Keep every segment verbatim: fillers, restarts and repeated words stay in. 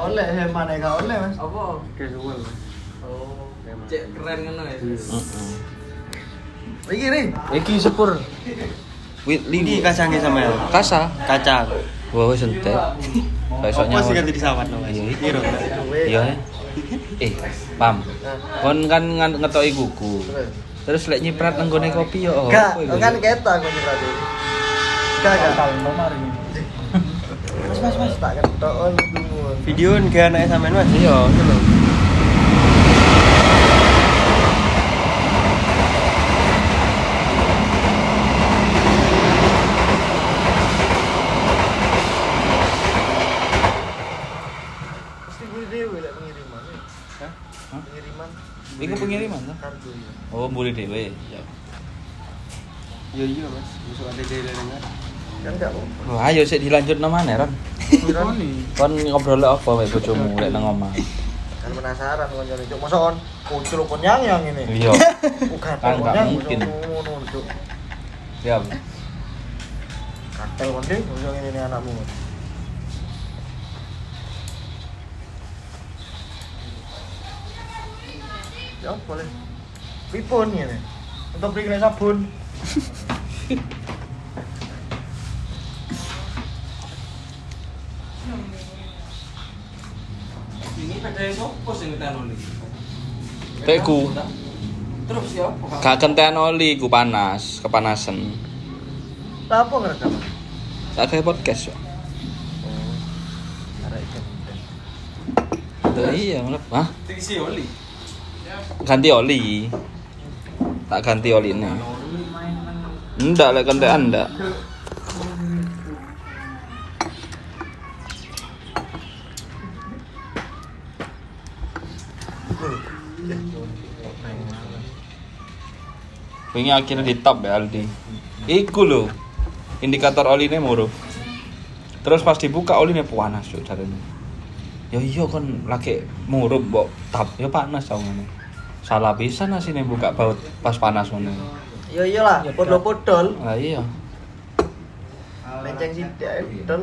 oleh, hemane gak oleh, Mas. Apa? Casual. Oh, cek keren ngono ya. Heeh. Iki ri. Iki sepur. Wit Ini kacangnya sama ya? Kasa. Kacang. Wah wis entek. Besoknya. Apa sih ganti di sawat namanya? Iya. Iro. Iya. Eh, Pam. Kon kan ngan- ngetoki kuku. Terus lek nyiprat nang gone kopi yo opo Gak, iku? kan ketok aku nyiprat iki. Gak, gak. Kalno mari. Mas, mas, mas, tak ketok on tunggu. Video nggak anaknya sampean Mas? Iya, itu lho. Mesti gue dhewe lek pengiriman. Hah? Pengiriman. Iku pengiriman ta? Kargo ya. Oh, boleh dhewe. Ya. Iya iya Mas. Besok ada dari dengar. Kan gak apa-apa. Wah, ayo sik dilanjut nang maneh, Ron. Kon ngobrol apa mek bojomu lek nang omah? Kan penasaran koncone cuk. Masa kon kucul kon yang ini. Iya. Bukan Kan gak yang mungkin. ngono cuk. Ya. Katel kon deh, koncone ini nih anakmu. Ya boleh. Pripun ngene? Untuk beli kena sabun. Ini pada sopo sing ngetan oli. Teku. Terus siapa? Gak kenten oli ku panas, kepanasan. Lah apa ngerekam? Tak kayak podcast yo. Oh. Arek ikan. Tuh iya, ngelep. Hah? Tinggi oli. Ganti oli. Tak ganti oline. Ndak lek kentekan ndak. Wingi akhirnya di top ya Aldi. Iku lho. Indikator oline murup. Terus pas dibuka oline panas yo jarene. Ya iya kon lagi murup mbok tap ya panas tau ngene. Salah pisan asine buka baut pas panas ngene. Ya iyalah, podol-podol. Lah iya. Lenceng sithik ae dol.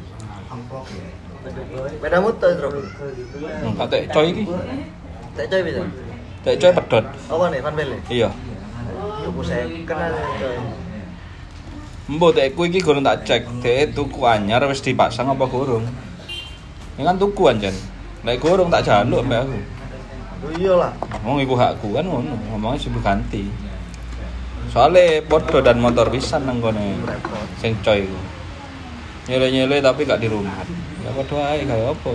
Beda motor, Bro. Hmm, katek coy iki. Tak coy bisa. Katek coy pedot. Apa nih, Van Belle? Iya. Tuku saya kenal coy. Mbok tekku iki gorong tak cek, dek tuku anyar wis dipasang apa gorong. Ya kan tuku anjen. Lek gorong tak jaluk mbak aku. Oh iyalah. Ngomong iku hakku kan ngono, ngomongnya sibuk ganti. Soale podo dan motor pisan nang kene. Sing coy iku. Nyele-nyele tapi gak di rumah. Ya padha ae kaya apa.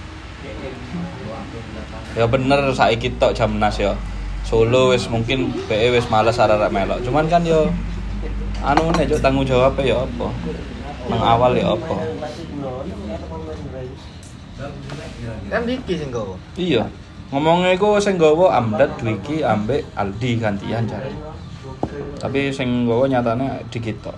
Ya bener saiki tok jam enam ya. Solo wis mungkin B E wis males arek-arek melok. Cuman kan yo anu nek cuk tanggung jawab ya apa. Nang awal ya apa. Kan Diki sing gowo. Iya. Ngomongnya iku sing nggawa Amdad, Dwiki, ambek Aldi gantian jare. Tapi sing nggawa nyatane dikit tok.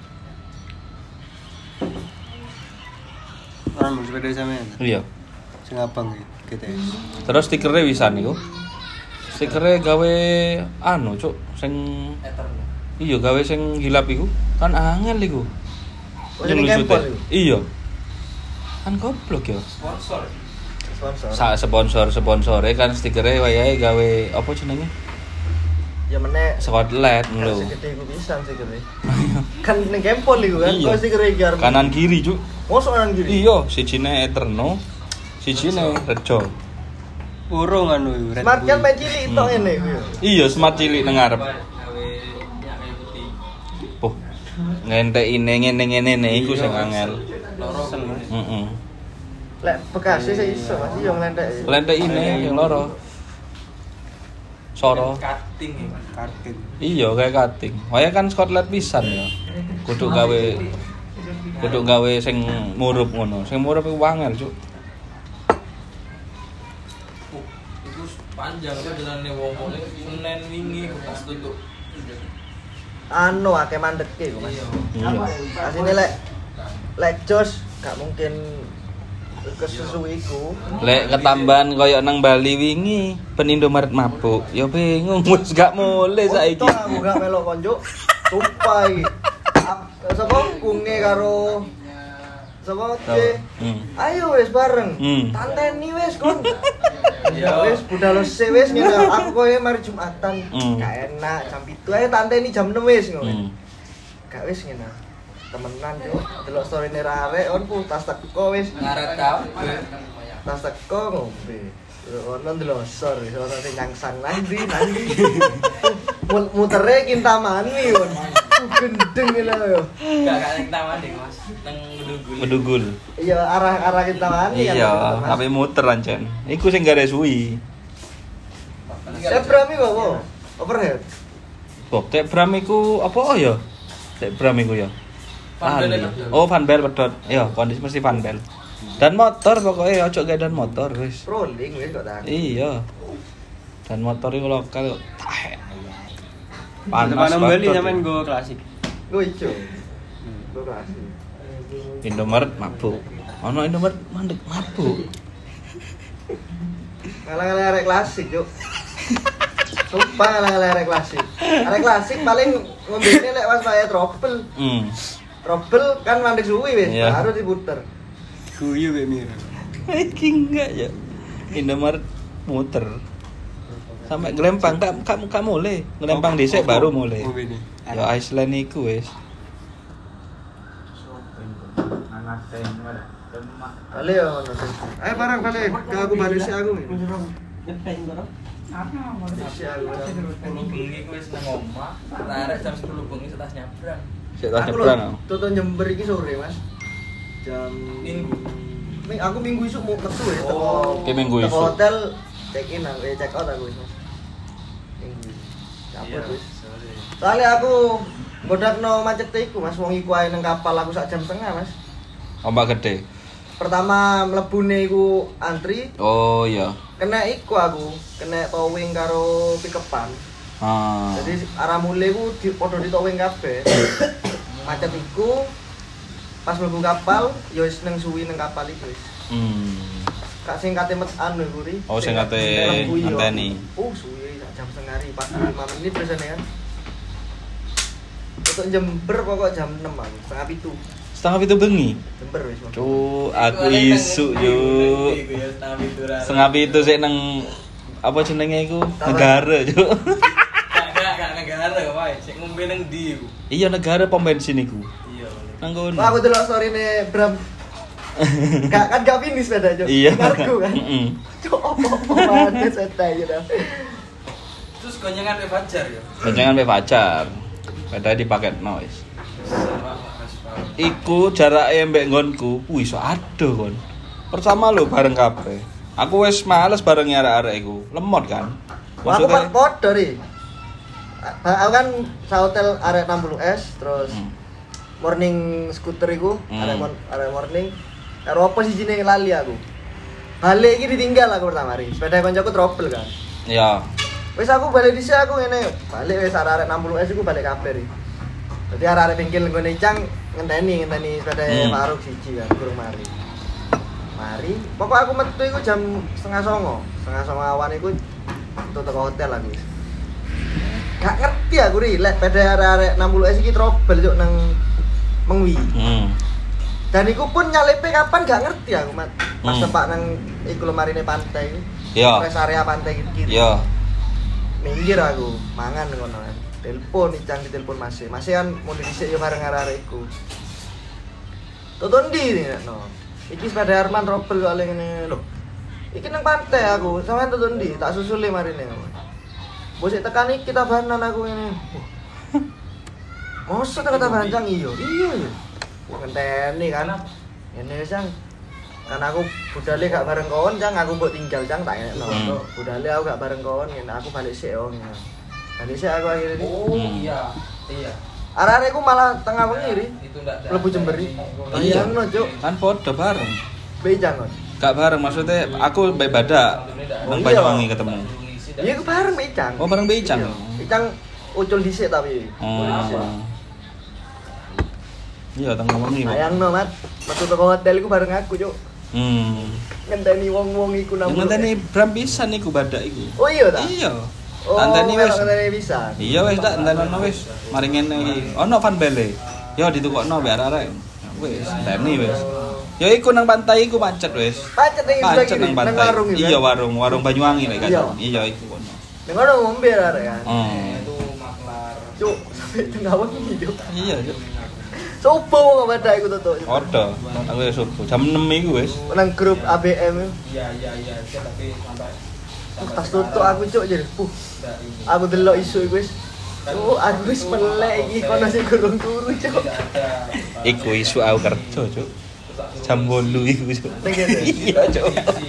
Orang mau sepeda sampean. Iya. Sing abang gitu. Terus stikernya wisan niku. Stikernya gawe anu, Cuk, sing iya gawe sing hilap iku. Kan angel iku. Oh, sing kempol iku. Iya. Kan goblok ya. Sponsor. Sponsor. Sa sponsor-sponsore kan stikernya wayahe gawe apa jenenge? Ya meneh Skotlet kan lho. segede iku pisan sih kene. Kan ning kempol iku kan. Iya. Kok sih kere iki arep. Kanan kiri, Cuk. Mosok kanan kiri. Iya, sijine Eterno, sijine Rejo. Urung anu Red Smart kan Bull. main cilik tok Hmm. ngene iku ya. Iya, smart cilik nang ngarep. Gawe minyak kayu putih. Puh. Ngentekine ngene-ngene iku sing angel. Loro kan. Heeh. Lek Bekasi sih iso Mas yo nglentek. Lentekine yang loro. Soro. Cutting ya. Kartin. Iya, kayak cutting. Waya kan skotlet pisan ya. Kudu gawe kudu gawe sing murup ngono. Sing murup iku angel, Cuk. Oh, itu panjang kan jalannya wong-wong Senin wingi pas tutup. Anu akeh mandeke iku Mas. Iya. Asine lek lek jos gak mungkin kesusu iku. Lek ketambahan koyo nang Bali wingi ben Indomaret mabuk. Ya bingung wis gak mulai saiki. Untung aku gak melok konjuk. Sumpah iki. Ap- Sapa kunge karo Sapa Tahu. oke. Hmm. Ayo wis bareng. Hmm. Tanteni wis kon. Iya. Ya wis budal se wis ngene aku kowe mari Jumatan. Hmm. Gak enak jam pitu ae tanteni jam enam wis ngono. Hmm. Gak wis ngene. Temenan yo, delok story-ne arek on ku tas teko wis. Ngaret kau. Tas teko ngombe. Ono ndelok story, ono sing nyangsang nanti nanti. Mutere Kintamani kon. Gendeng lho yo. Gak gak ning taman deh, Mas. Nang Medugul. Medugul. Iya arah-arah Kintamani kan. Iya, Mas. tapi muter ancen. Iku sing gak ada suwi. Sebram iku apa? Overhead. Bob tek Bram iku apa oh ya? Tek Bram iku ya. Van Bell Lali. itu. Oh, Van Bell pedot. Iya, kondisi mesti Van Bell. Dan motor pokoknya ojo gak dan motor wis. Rolling wis kok tak. Iya. Dan motor iku lokal tahe. Panas Panas Bali banget. nyamen go klasik. Gue ijo. Gue klasik. Indomaret mabuk. Ono Indomaret mandek mabuk. Ngalah-ngalah arek klasik, Juk. Sumpah ngalah-ngalah arek klasik. Arek klasik paling ngombene lek pas wae trouble. Hmm. Trouble kan mandek suwi wis, Iya. baru diputer. Guyu be mir. Iki enggak ya. Indomaret muter. Sampai gelempang tak kamu kamu mulai. Gelempang dhisik baru mulai. Oh, ini. Ya Iceland iku wis. Balik ya ngono. Ayo bareng balik. Ke aku balik sih aku. Si aku. Sepuluh bengi ku wis nang omah. Arek jam sepuluh bengi setas nyabrang. Sik tak Aku nyebrang. lho, tutup Jember iki sore, Mas. Jam Minggu. Ming aku minggu isuk mau metu ya teko. Oh, oke, minggu teko isuk. hotel check in aku, eh, check out aku wis, Mas. Minggu. Cabut Iya, wis. sorry. Soalnya aku bodakno macet iku, Mas. Wong iku ae nang kapal aku sak jam setengah, Mas. Ombak gede. Pertama mlebune iku antri, Oh iya. kena iku aku, kena towing karo pikepan. Ah. Jadi arah mulai ku di podo di towing kabeh. Macet iku pas mlebu kapal ya wis nang suwi nang kapal iku wis. Hmm. Kak sing kate met anu iku ri. Oh, sing kate mlebu iya. ngenteni. Oh, suwi sak jam setengah ri, empat puluh lima menit biasanya kan. Untuk Jember pokok jam enam aku, setengah pitu. Setengah itu bengi. Jember wis. Mas. Cuk, aku isu yuk. Setengah itu sik nang apa jenenge iku? Negara, Cuk. Gak gak negara wae, sik ngombe nang ndi iku. Iya negara pom bensin iku. Iya. Nang kono. Wah, aku delok story-ne Bram. Gak kan gak finish sepeda, Cuk. Iya. Kargo kan. Heeh. Cuk, opo-opo banget sepeda gitu. Terus gonyangan pe Fajar ya. Jangan pe pacar. Padahal dipakai noise. Iku jaraknya mbek nggonku, wih so aduh kon. Pertama lho bareng kabeh. Aku wis males bareng arek-arek iku. Lemot kan. Wah, aku kan podo ri. Aku kan sa hotel area enam puluh S terus Hmm. morning scooter iku, Hmm. area mon- area morning. Karo apa sih jenenge lali aku. Balik iki ditinggal aku pertama ri. Sepeda koncoku trouble kan. Ya. Wis aku balik dhisik aku ngene. Balik wis area enam puluh S iku balik kabeh ri. Dadi area bengkel nggone Cang ngenteni ngenteni sepeda Hmm. Faruk siji kan kurang mari. Mari, pokok aku metu iku jam setengah songo, setengah songo awan iku tutup ke hotel aku. Gak ngerti aku ri, lek pada arek-arek enam puluh S iki trouble juk nang Mengwi. Hmm. Dan iku pun nyalepe kapan gak ngerti aku, Mat. Pas Hmm. tepak nang iku lemarine pantai. Ya. Rest area pantai kiri. Ya. Minggir aku, mangan ngono kan. Telepon icang ditelepon Mas. Mas kan mulai dhisik yo bareng arek-arek iku. Tuton ndi nih, no. Iki sepeda Arman trouble kok ngene lho. Iki nang pantai aku, sampean tuton ndi? Tak susule marine. Bos tekan iki kita banan aku ngene. Mosok kata bancang iyo. Iya ya. Ngenteni kan. Ngene Cang. Kan aku budale gak bareng kawan, Cang, aku mbok tinggal Cang tak enekno. Hmm. Budale aku gak bareng kawan, ngene aku balik sik yo ngene. Balik sik aku akhirnya ini. Oh Hmm. iya. Iya. Arek-arekku malah tengah wengi ri. Itu ndak Mlebu Jember ri. Iya. Bayangno, Cuk. Kan podo bareng. Bejang kon. Gak bareng maksudnya aku baik badak Oh, nang iya. Banyuwangi ketemu. Iya ku bareng Bejang. Oh, bareng Bejang. Iya. Bejang ucul dhisik tapi. Oh. Iya, tengah wengi. Pak. Bayangno, Mat. Metu teko hotel iku bareng aku, Cuk. Hmm. Ngenteni wong-wong iku nang. Yang ngenteni Bram pisan iku badak iku. Oh iya ta? Iya. Oh, Tanteni wis. ngenteni bisa. Iya wis tak entenono wis. Mari ngene iki. Ono Van Belle. Yo ditukokno mbek arek-arek. Wis, enteni wis. Ya iku nang pantai iku macet wis. Pacet ning sebelah Macet kiri, nang nang pantai. warung iki. Iya warung, warung Banyuwangi lek Iya. kan. Iya iku kono. Ning kono ngombe arek kan. Oh. Itu maklar. Cuk, sampai tengah wengi cuk. Iya, Cuk. Subuh kok pada iku tutuk. Ordo. Aku wis subuh. Jam enam iku wis. Nang grup A B M. Iya iya iya, Cuk, tapi sampai Uh, tas tutuk aku cuk jadi. Puh. Aku delok isu iku wis. Oh, aku wis melek iki kono sing gurung turu cuk. Iku isu aku kerja, Cuk. Jam delapan iku, Cuk. Ning kene. Iya, Cuk.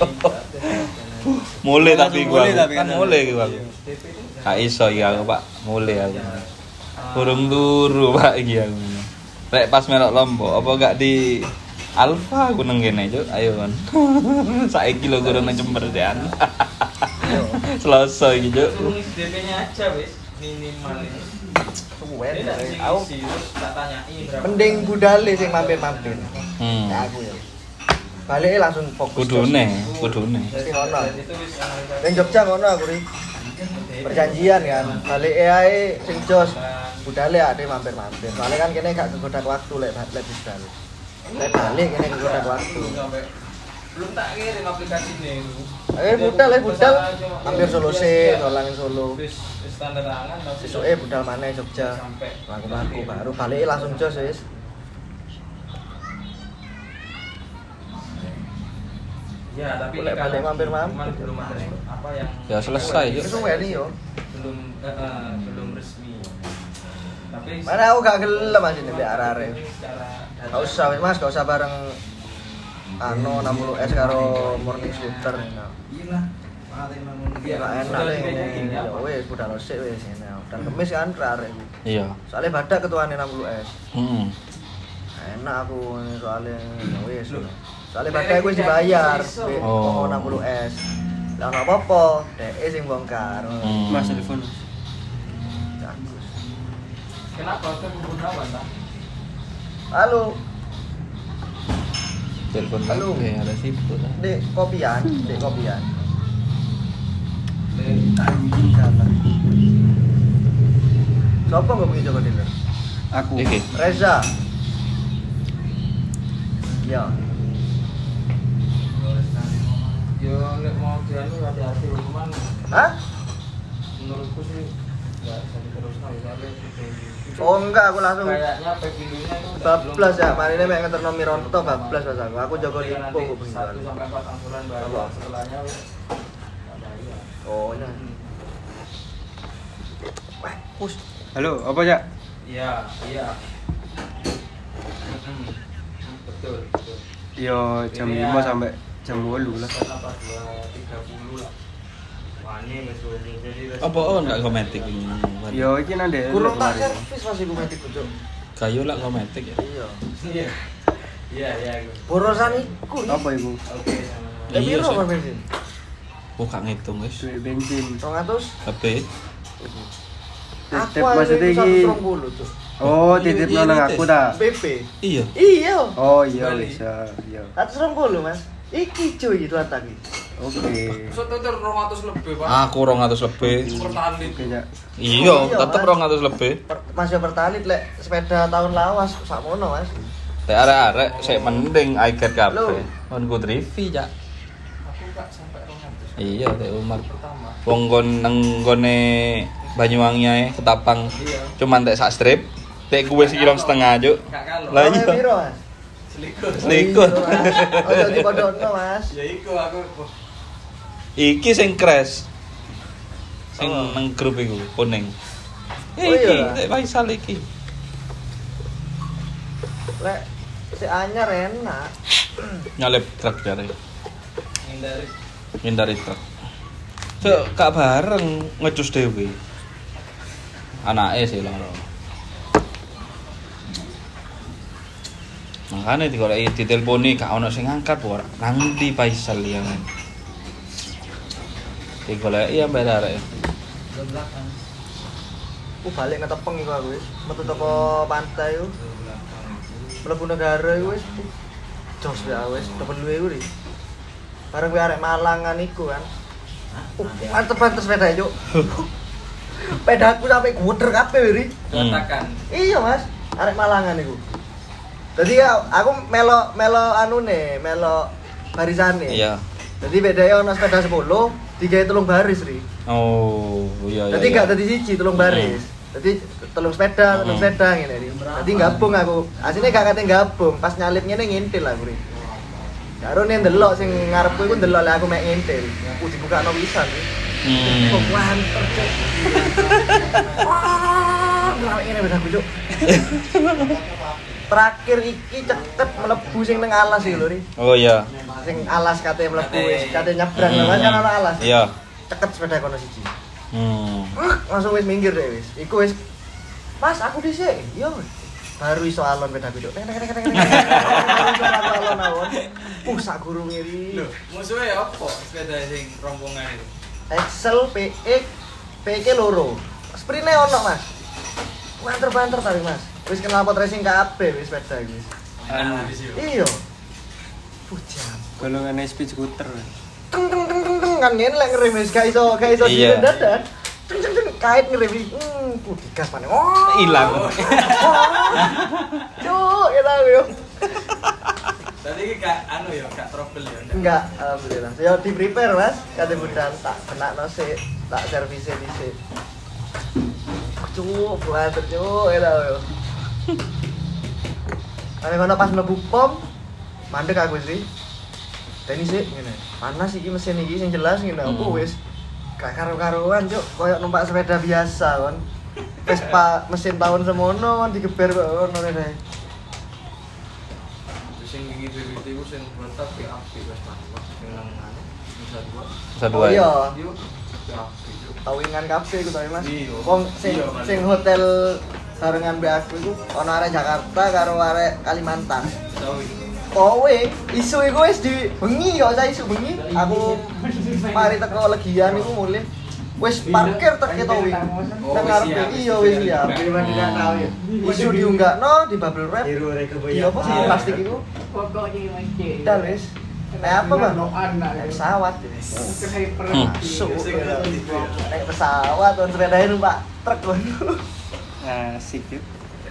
Mulai tapi gua. Mulai tapi Kan kan. mulai gua. Gak iso iki aku, Pak. Mulai aku. Burung turu, Pak iki aku. Lek pas melok Lombok, apa gak di Alfa aku nang kene, Cuk. Ayo kon. Saiki lho gurung nang Jember dean. Selasa iki, Cuk. Turun D P-nya aja wis minimal ini. Suwen. Ini tak Aku sih terus tak tanyain berapa. mending budale sing mampir-mampir. Hmm. Ya aku ya. Balik langsung fokus. Kudune, kudune. Mesti ngono. Itu wis analisa. Ning Jogja ngono aku ri. Perjanjian kan. Balik ae sing jos. Budale ade mampir-mampir. Soalnya kan kene gak kegodak waktu lek lek budal. Lek balik kene kegodak waktu. Sampai belum tak kirim aplikasi nih. Eh budal eh budal mampir Solo se, dolan Solo. Wis wis standar angan tapi Sesuke budal maneh Jogja. sampai Laku-laku baru balik langsung jos wis. Ya, tapi Boleh ini balik kalau mampir-mampir. cuman belum ada apa yang Ya selesai, Cuk. Wis weni yo. belum eh, eh, belum resmi. Tapi Mana aku gak gelem Mas ini mbek arek-arek. secara Gak usah wis Mas, gak usah bareng anu enam puluh S karo morning scooter. Iya. Ya gak enak ning ya wis budal sik wis ngene. Dan kemis kan arek iku. Iya. Soalnya badak ketuane enam puluh S. Heeh. Enak aku soalnya ya wis. Soalnya badak wis dibayar di Oh. enam puluh S. Lah ono apa-apa, dhek sing bongkar. Hmm. Mas telepon. Bagus. kenapa tuh Gunawan tak? Halo, Telepon Halo. lagi ada sibuk lah. Dek kopian, Dek kopian. Anjing salah. Sopo enggak punya Joko Dealer? Aku. Iki. Reza. Ya. Yo nek mau dianu hati-hati cuman Hah? menurutku sih enggak bisa diteruskan soalnya Oh enggak, aku langsung kayaknya pevilinya itu udah bablas ya. belum- Marine mek ngeterno Mironto bablas pas aku. Aku Joko Tapi Lipo nanti kok satu pengen. sampai empat angsuran baru Apa? setelahnya wis enggak bayar. Oh, nah. Wah, pus. Halo, apa ya? Iya, iya. Mm-mm. Betul, betul. Yo jam Ini lima ya. sampai jam delapan lah. Kenapa dua tiga puluh lah. Wani wis wani jadi wis- Apa oh enggak kometik ini? Yo iki nang ndek. Kurang tak kemarin. servis masih gue metik Cuk. Kayu lah kometik ya. Iya. Iya. Iya, iya. Gus. Borosan iku. Apa iku? Oke, sama-sama. Eh, Iya, piro sih. kon bensin? Oh gak ngitung wis. Duit bensin. dua ratus. Tapi Titip maksudnya iki. seratus dua puluh tuh. Oh, titip Iya, nang iya, aku iya. ta. B P. iya. Iya. Oh iya Bali. bisa. Iya. seratus dua puluh Mas. Iki cuy itu lagi. Oke. Soto ter dua ratus lebih, Pak. Aku rong atus lebih. Pertalit. Oke, ya. Iya, Iya, tetep Mas. rong atus lebih. Per- Masih pertalit lek sepeda tahun lawas sakmono Mas. Lek arek-arek sik mending I get Loh. kabeh. Kon ku trivi, Cak. Aku gak sampai dua ratus. Iya, Teh Umar. Pertama. Wong kon nang gone Banyuwangi ae ketapang. Iya. Cuman tek sak strip, tek kuwe sekilo setengah, Cuk. Gak kalau. Lah Oleh iya. piro Mas? Selikur. Selikur. Oh, jadi podokno Mas. Ya iku aku Iki sing crash. Sing Oh. nang grup iku kuning. Oh, Iki, iya. Tek Faisal iki. Lek si anyar enak. Nyalip truk jare. ngindari. Ngindari truk. Cuk, kak bareng ngecus dhewe. Anake sih loro. Makanya digoleki diteleponi gak ono sing ngangkat ora. Nang ndi Faisal ya kan. Digoleki ya mbak arek. Ke belakang. Aku balik ngetepeng iku aku wis. Metu teko pantai iku. Ke belakang. Mlebu negara iku wis. Jos ya wis, depan luwe iku ri. Bareng kuwi arek Malangan iku kan. Uh, mantep-mantep sepeda Cuk. Pedaku sampai guter kabeh ri. Hmm. Katakan. Iya Mas, arek Malangan iku. Jadi ya, aku melo melo anune, melo barisane. Iya. Jadi bedanya ono sepeda sepuluh, digawe telung baris ri. Oh, iya iya. Jadi iya. gak dadi siji telung baris. Jadi telung sepeda, telung Hmm. sepeda ngene ri. Jadi gabung aku. Asline gak kate gabung, pas nyalip ngene ngintil aku ri. Karo nek ndelok sing ngarepku iku ndelok lek aku mek ngintil. Aku dibukakno pisan ri. Hmm. Kok wanter cuk. Wah, ngelawek ngene beda cuk. Terakhir iki ceket mlebu sing nang alas iki lho ri. Oh iya. Sing alas kate mlebu Kate- wis kate nyebrang Hmm. lho kan ana alas. Iya. Ceket sepeda kono siji. Hmm. Uh, langsung wis minggir deh wis. Iku wis Mas, aku dhisik. Yo. Baru iso alon beda beda. Tek tek tek tek. Alon alon. Uh, sak guru ngiri. Lho, musuhnya ya apa sepeda sing rombongan itu? Excel P E P E ke loro. Sprine ono, Mas. Banter-banter tadi, Mas. Wis kenal pot racing kabeh wis sepeda iki. Enak di sini. Iya. Pujan. Golongan speed scooter. Teng teng teng teng teng kan ngene lek ngerem wis gak iso gak iso Iya. dadan. Teng teng teng kait ngerem iki. Hmm, ku digas maneh. Oh. Hilang. Cuk, enak yo. Tadi iki gak anu ya, gak trouble ya. Enggak, alhamdulillah. Yo di prepare, Mas. Kate budal tak kenakno sik, tak servis dhisik. Cuk, buat cuk, enak yo. Ane kono pas mlebu pom, mandek aku sih. Teni sik ngene. Panas iki mesin iki sing jelas ngene. Aku Hmm. wis gak karo-karuan, Cuk. Koyok numpak sepeda biasa kon. Vespa mesin tahun semono kon digeber kok ngono rene. Sing iki B B T ku sing mantap ki api wis mantap. Sing nang anu Nusa Dua. Nusa Dua. Oh iya. Yo, ki api. Cuk. Tawingan kabeh iku tapi Mas. Iya. Wong sing Iya, Mas. sing hotel barengan mbek aku iku ana arek Jakarta karo arek Kalimantan. Tahu iki. Kowe isu iku wis di bengi kok saya isu bengi. Aku mari teko legian iku mulih wis parkir tek ketowi. Oh, Nang wis ngarepe siap. iya wis siap. Isu diunggakno di bubble wrap. Iya apa sih Iya. plastik iku? Dal wis. Kayak apa, Bang? Kayak pesawat. Hmm. Masuk. Sing ngerti itu ya. Kayak pesawat on sepedae numpak truk kon. Asik yuk.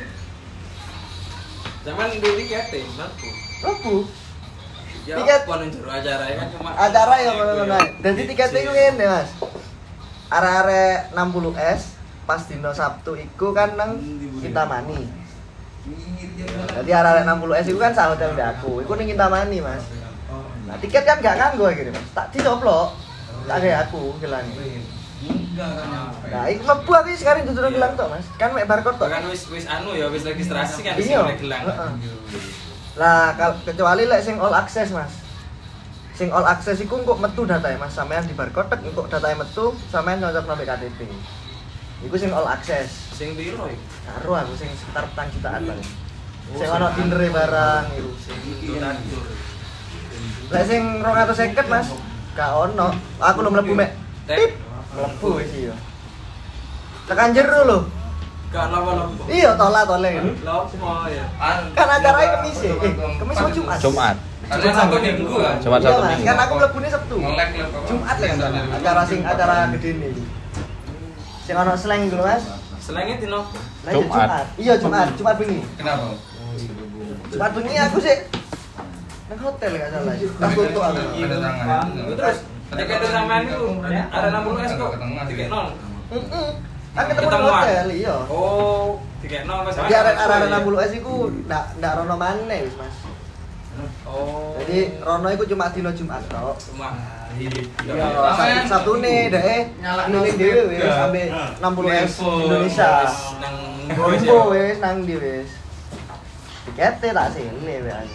Zaman dulu kate, mampu. Lebu. Ya Tiket- apa nang jero acara kan cuma Acara ya ngono-ngono. Dadi tiketnya iku ngene, Mas. Arek-arek enam puluh S pas dino Sabtu iku kan nang Kintamani. Jadi arek-arek enam puluh S iku kan sak hotel mbek aku. Iku ning Kintamani, Mas. Nah, tiket kan gak nganggo akhirnya, Mas. Tak dicoplok. Tak gawe aku gelang. Nah, iku mlebu aku sekarang dudu nang gelang tok, Mas. Kan mek barcode tok. kan wis wis anu ya wis registrasi kan Iya. sing gelang. Heeh. Lah, kal- kecuali lek sing all access, Mas. Sing all access iku engko metu datae, Mas. Sampean di barcode tek engko datae metu, sampean nyocokno mbek K T P. Iku sing all access. Sing piro iki? Karo aku sing sekitar petang jutaan paling. Oh, Sing ono dinere barang iku. Sing donatur. Lek sing dua ratus lima puluh, Mas. Gak ono. Aku lu mlebu mek. Tek. Tip. Mlebu wis iya. Tekan jero lho. Gak lama-lama. Iya, tola tole. Lopo ya? Kan acaranya Kemis ya. Eh, Kemis apa Jumat? Jumat. Jumat Sabtu Minggu kan? Jumat Iya, Sabtu Mas. Minggu. Kan aku mlebune Sabtu. Ngelek lek. Jumat lek nggak salah. Acara sing acara gede nih. Sing ono slang iku lho, Mas. Selenge dino Lah, iya, Jumat. Iya, Jumat, Jumat bengi. kenapa? Jumat bengi aku sih nang hotel gak salah. Pas tutup aku. Terus tiket sampean itu ada enam puluh S kok. Tiket nol. Heeh. Kan ketemu di Ketemuan. hotel, iya. Oh, tiket nol Mas. Jadi arek-arek enam puluh S iku ndak ndak rono maneh wis, Mas. Oh. Jadi rono iku cuma dino Jumat tok. cuma Iya, Sabtu Sabtune dhek keliling dhewe wis sampe enam puluh S Indonesia. nang Gombo wis nang ndi wis. Tikete tak sile wae aku.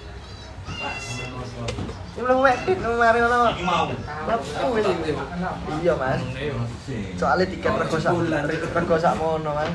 Ini belum medit, mari ngono. Lepu wis iki. Iya, Mas. Soalnya tiket rego sak rego sak mono, Mas.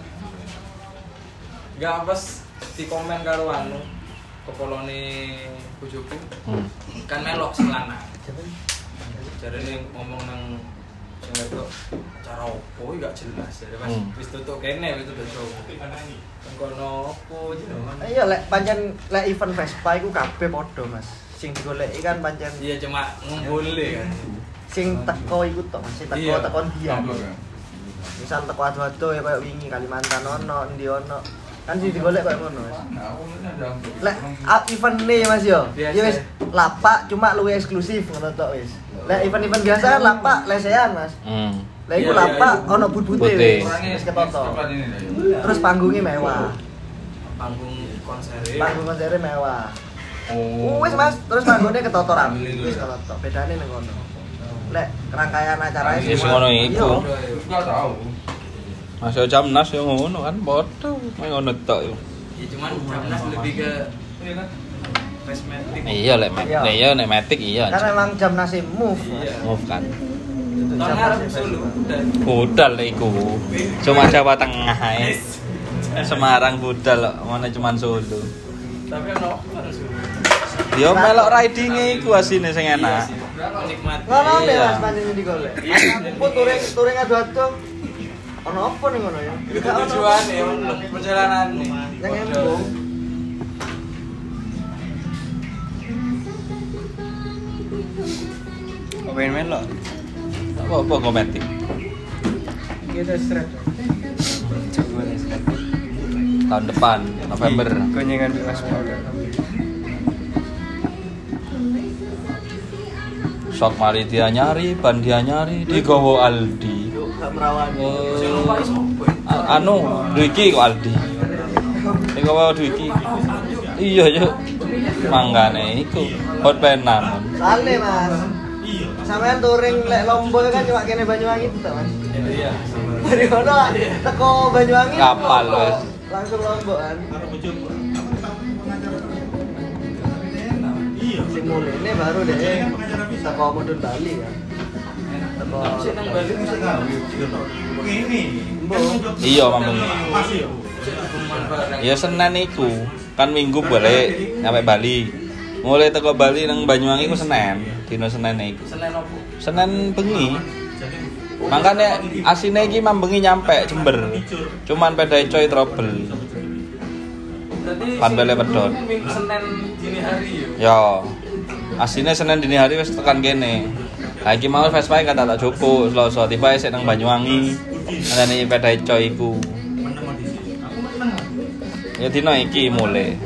Enggak pas di komen karo anu kepolone bojoku Hmm. kan melok selana. Jarene ngomong nang sing wedok acara opo iki gak jelas ya Mas. Hmm. Wis tutuk kene wis tutuk show. Kan kono opo jenenge? Iya, lek pancen lek event Vespa iku kabeh padha, Mas. Sing digoleki kan pancen Iya cuma ngumpule kan. sing teko iku tok, Mas. Sing teko Iya. teko dia. Misal teko ado-ado ya kayak wingi Kalimantan ono, endi ono. Kan sih digolek koyo ngono, Mas. Lek ah, event nih Mas yo. Biasa. Ya wis lapak cuma luwih eksklusif ngono tok wis. Lek event-event biasa kan lapak lesehan, Mas. Hmm. Lah iku Iya, iya, lapak iya. ono but-bute Putih. wis. Wis ketoto. Terus panggungnya mewah. Panggung konser. Panggung konsernya mewah. Oh. Wis Mas, terus panggungnya ketoto rapi. Wis ketoto. Bedane ning ngono. Lek rangkaian acaranya Ya, sing ngono iku. Enggak tahu. Masih Jamnas yo ngono kan padha main ngono tok yo. Ya cuman Jamnas lebih ke kosmetik. Iya lek mek. Iya. Nek yo nek metik iya. kan emang jam nasi move. Mas. Iya. Move kan. Tahun ngarep Solo udah. Budal lek iku. Cuma Jawa Tengah ae. Semarang budal kok, mana cuman Solo. Tapi ono kan Solo. Yo melok riding-e iku asine sing enak. Nikmati. Ngono deh Iya. Mas pancen digolek. Aku touring touring adu-adu. Ono apa ning ngono ya? Itu tujuan ya, perjalanan nih. Yang embung. Kok pengen main lo? Apa-apa kometik. Kita seret. Coba nih seret. Tahun depan November. Konyengan di Mas Paul. Sok mari dia nyari, ban dia nyari, digowo Aldi. Yuk, gak merawan. Sing lupa iso apa? A- anu, Dwiki kok Aldi. Digowo Dwiki. Iya, yuk. Manggane iku hot penam. Sale Mas. Iya. Sampean touring lek Lombok kan cuma kene Banyuwangi itu Mas. Iya. Dari kono teko Banyuwangi Kapal, Lombok. wes. Langsung Lombok kan. Sing mulai ini baru deh teko mudun Bali kan. Teko Sik nang Bali mesti gawe. Iya, mambengi. Barang. Ya Senin iku. Kan Minggu balik nyampe Bali. Mulai teko Bali nang Banyuwangi ku Senin, dino Senin iku. Senen opo? Senin bengi. Makanya asine iki mambengi nyampe Jember. Cuman pedae coy trouble. Berarti Pan bele pedot. Minggu Senin dini hari yo. Yo. Asine Senin dini hari wis tekan kene. Lah iki mau Vespa kata tak cukup Selasa tiba sik nang Banyuwangi. Ngene pedae coy iku. Ya dino iki mulai.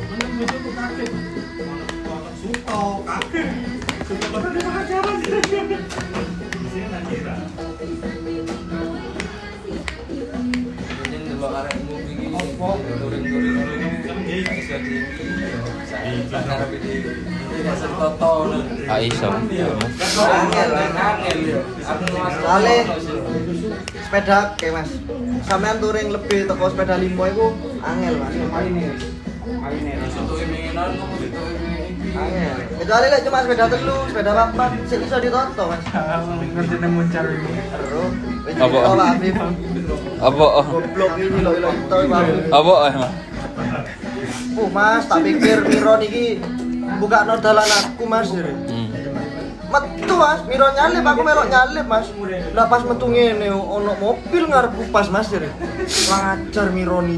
Jadi delok arekmu iki touring-touring gak iso di karep iki. Iki sertoto ngono. Ah iso. Angel, angel yo. Aku Soale sepeda kayak Mas. Sampean touring lebih teko sepeda limo iku angel Mas. Untuk iminginan kamu itu ini. Angel. Kecuali lek cuma sepeda telu, sepeda papat sing iso ditoto Mas. Ngerti nemu cari ini. Terus wis Apa? ditoto Pak Afif. Apa? Goblok ini lho lho itu Pak Afif. Apa emang? Uh Mas, tak pikir Miro niki buka no dalan aku Mas. Hmm. Metu Mas, Miro nyalip aku melok nyalip Mas. Lah pas metu ngene ono mobil ngarepku pas Mas jare. Lancar Miro ni.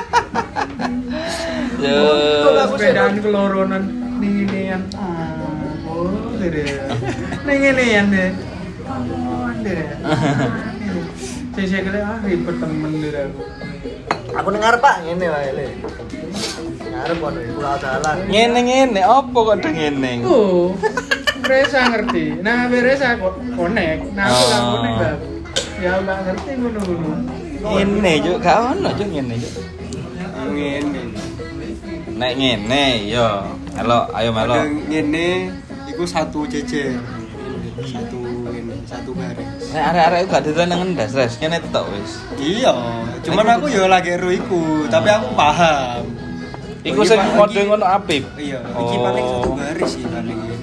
Ya. Sepedaan keloronan ning ngene yang. Oh, dere. Ning ngene yang deh. Oh, dere. Saya kira ah ribet temen dere aku. Aku dengar Pak ngene wae le. Ngarep ono pulau dalan. Ngene-ngene apa kok ada ngene? Oh, Resa ngerti. Nah, Resa kok connect. Nah, aku gak Oh. connect lah. Ya gak ngerti ngono-ngono. Ngene juk gak ono juk ngene juk. Ngene. Nek ngene yo. Melo, ayo melo. Ngene iku satu jejer. Satu ngene, satu baris. Nek arek-arek iku gak diren nang ndas, Res. Kene tok wis. Iya, cuman aku yo lagi ero iku, tapi aku paham. Iku Oh, sing iya, Pak, kode iki- ngono Apip. Iya, iki paling satu baris sih paling ini.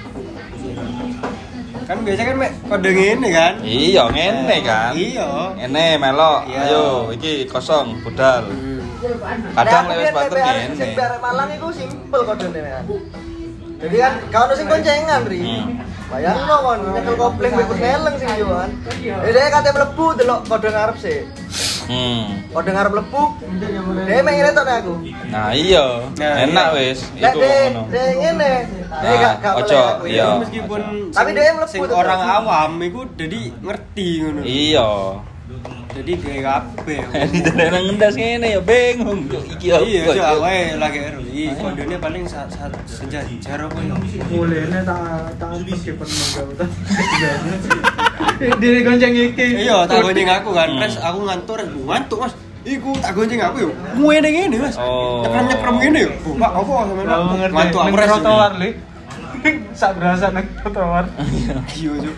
Kan biasa kan mek kode ngene kan? Iya, ngene kan. Iya. Ngene melo. Iya. Ayo, iki kosong budal. Kadang lek wis bater ngene. Sing barek Malang iku simpel kodene kan. Jadi kan kau ono sing koncengan ri. Hmm. Bayangno kon nyekel kopling wis neleng sing yo kan. Jadi dia kate mlebu delok kode ngarep sih. Hmm. Kode ngarep mlebu. Dia mek ngene tok nek aku. Nah, iya. Nah, Enak iya. wis. Lek Iku de ngono. de ngene. Dia Nah, gak gak ojo, boleh aku, iya. ya. Meskipun Tapi sing- dia mlebu sing tetep. orang awam iku jadi ngerti ngono. Iya. Jadi kayak kabeh. Ini tenan ngendas ngene ya bingung. Iki apa? Iya, Cuk, awake lagi R W I. Kondone paling saat sejajar apa ya? Mulene tak tak pergi pernah gak ta. Diri gonceng iki. Iya, tak gonceng aku kan. Terus aku ngantuk, ngantuk Mas. Iku tak gonceng aku yo. Ngene ngene Mas. Oh. Nyeprem-nyeprem ngene yo. Pak, apa sampean? Oh, ngerti. Ngantuk aku Nang res. trotoar li. Sak berasa nang trotoar. Iya, Cuk.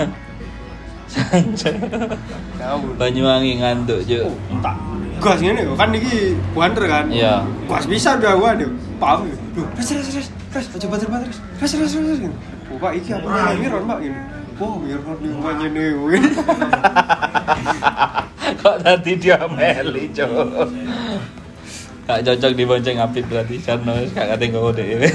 Banyuwangi ngantuk, Cuk. Tak gas ngene yo. Kan iki banter kan. Iya. Gas bisa udah gua aduh. Paham yo. Duh, res res res. Res, aja bater-bater. Res res res. Oh, Pak, iki apa namanya Ron, Pak? Ini. Oh, Ron yo ngene yo. Kok tadi dia meli, Cuk. Gak cocok dibonceng Apit berarti Jarno wis gak kate nggo dhewe.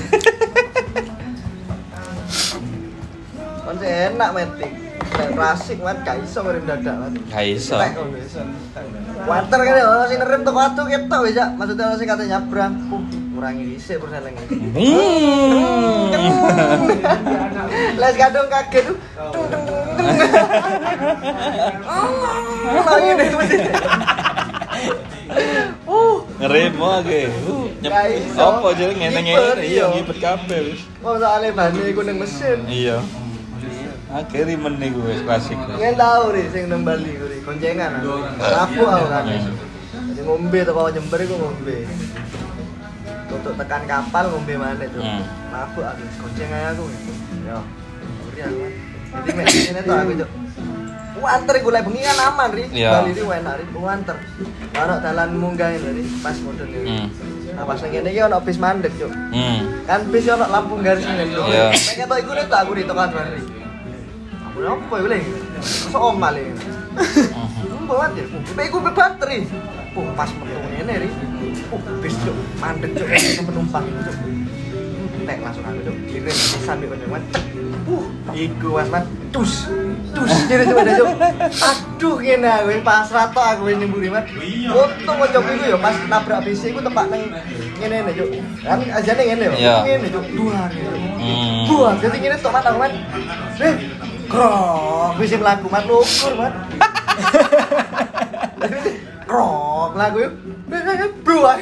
Kan enak metik. Kayak klasik man, gak iso ngerem dadak man. Gak iso. Water kan ya, orang sing ngerem toko atu ketok wis ya. Maksudnya orang sing kate nyabrang, uh, ngurangi dhisik persen iki. Hmm. Les kadung kaget tuh. Oh, ini mesti. Uh, Ngerem wae. Uh, Gak iso. Apa jenenge ngene-ngene Ngipet, iya iya. ngipet kabeh wis. kok soalnya bane iku ning mesin. Iya. Akhirnya men niku wis klasik. Ngen tau ri sing nang Bali kuwi koncengan. Rapu aku kan. Jadi ngombe teko Jember iku ngombe. Untuk tekan kapal ngombe maneh tuh. Hmm. Mabuk aku koncengan aku. Yo. Uri aku. Jadi mek ngene to aku cuk. Wanter iku lek bengi kan aman ri. Iya. Bali iki enak ri wanter. Ono dalan munggah ri pas model iki. Hmm. Nah pas nang kene iki ono bis mandek cuk. Hmm. Kan bis ono lampu garis ngene lho. Iya. Nek ketok iku nek aku di tekan ri. Aku apa iku le? Sok omal iki. Mbok wae. Mbek iku be bateri. Oh, pas metu ngene ri. Oh, bis cuk, mandek cuk penumpang cuk. Tek langsung aku cuk. Kirim pisan mek kon. Uh, iku was man. Tus. Tus kene cuk ada cuk. Aduh kene aku pasrah tok aku nyemburi man. Untung kocok iku ya pas nabrak bis iku tepak nang ngene ne cuk. Kan ajane ngene yo. Iya. Ngene cuk. Duar. Hmm. Duar. Jadi ngene tok man aku man. Eh, krok bisa mlaku man lukur man. Krok lagu yuk. Buang.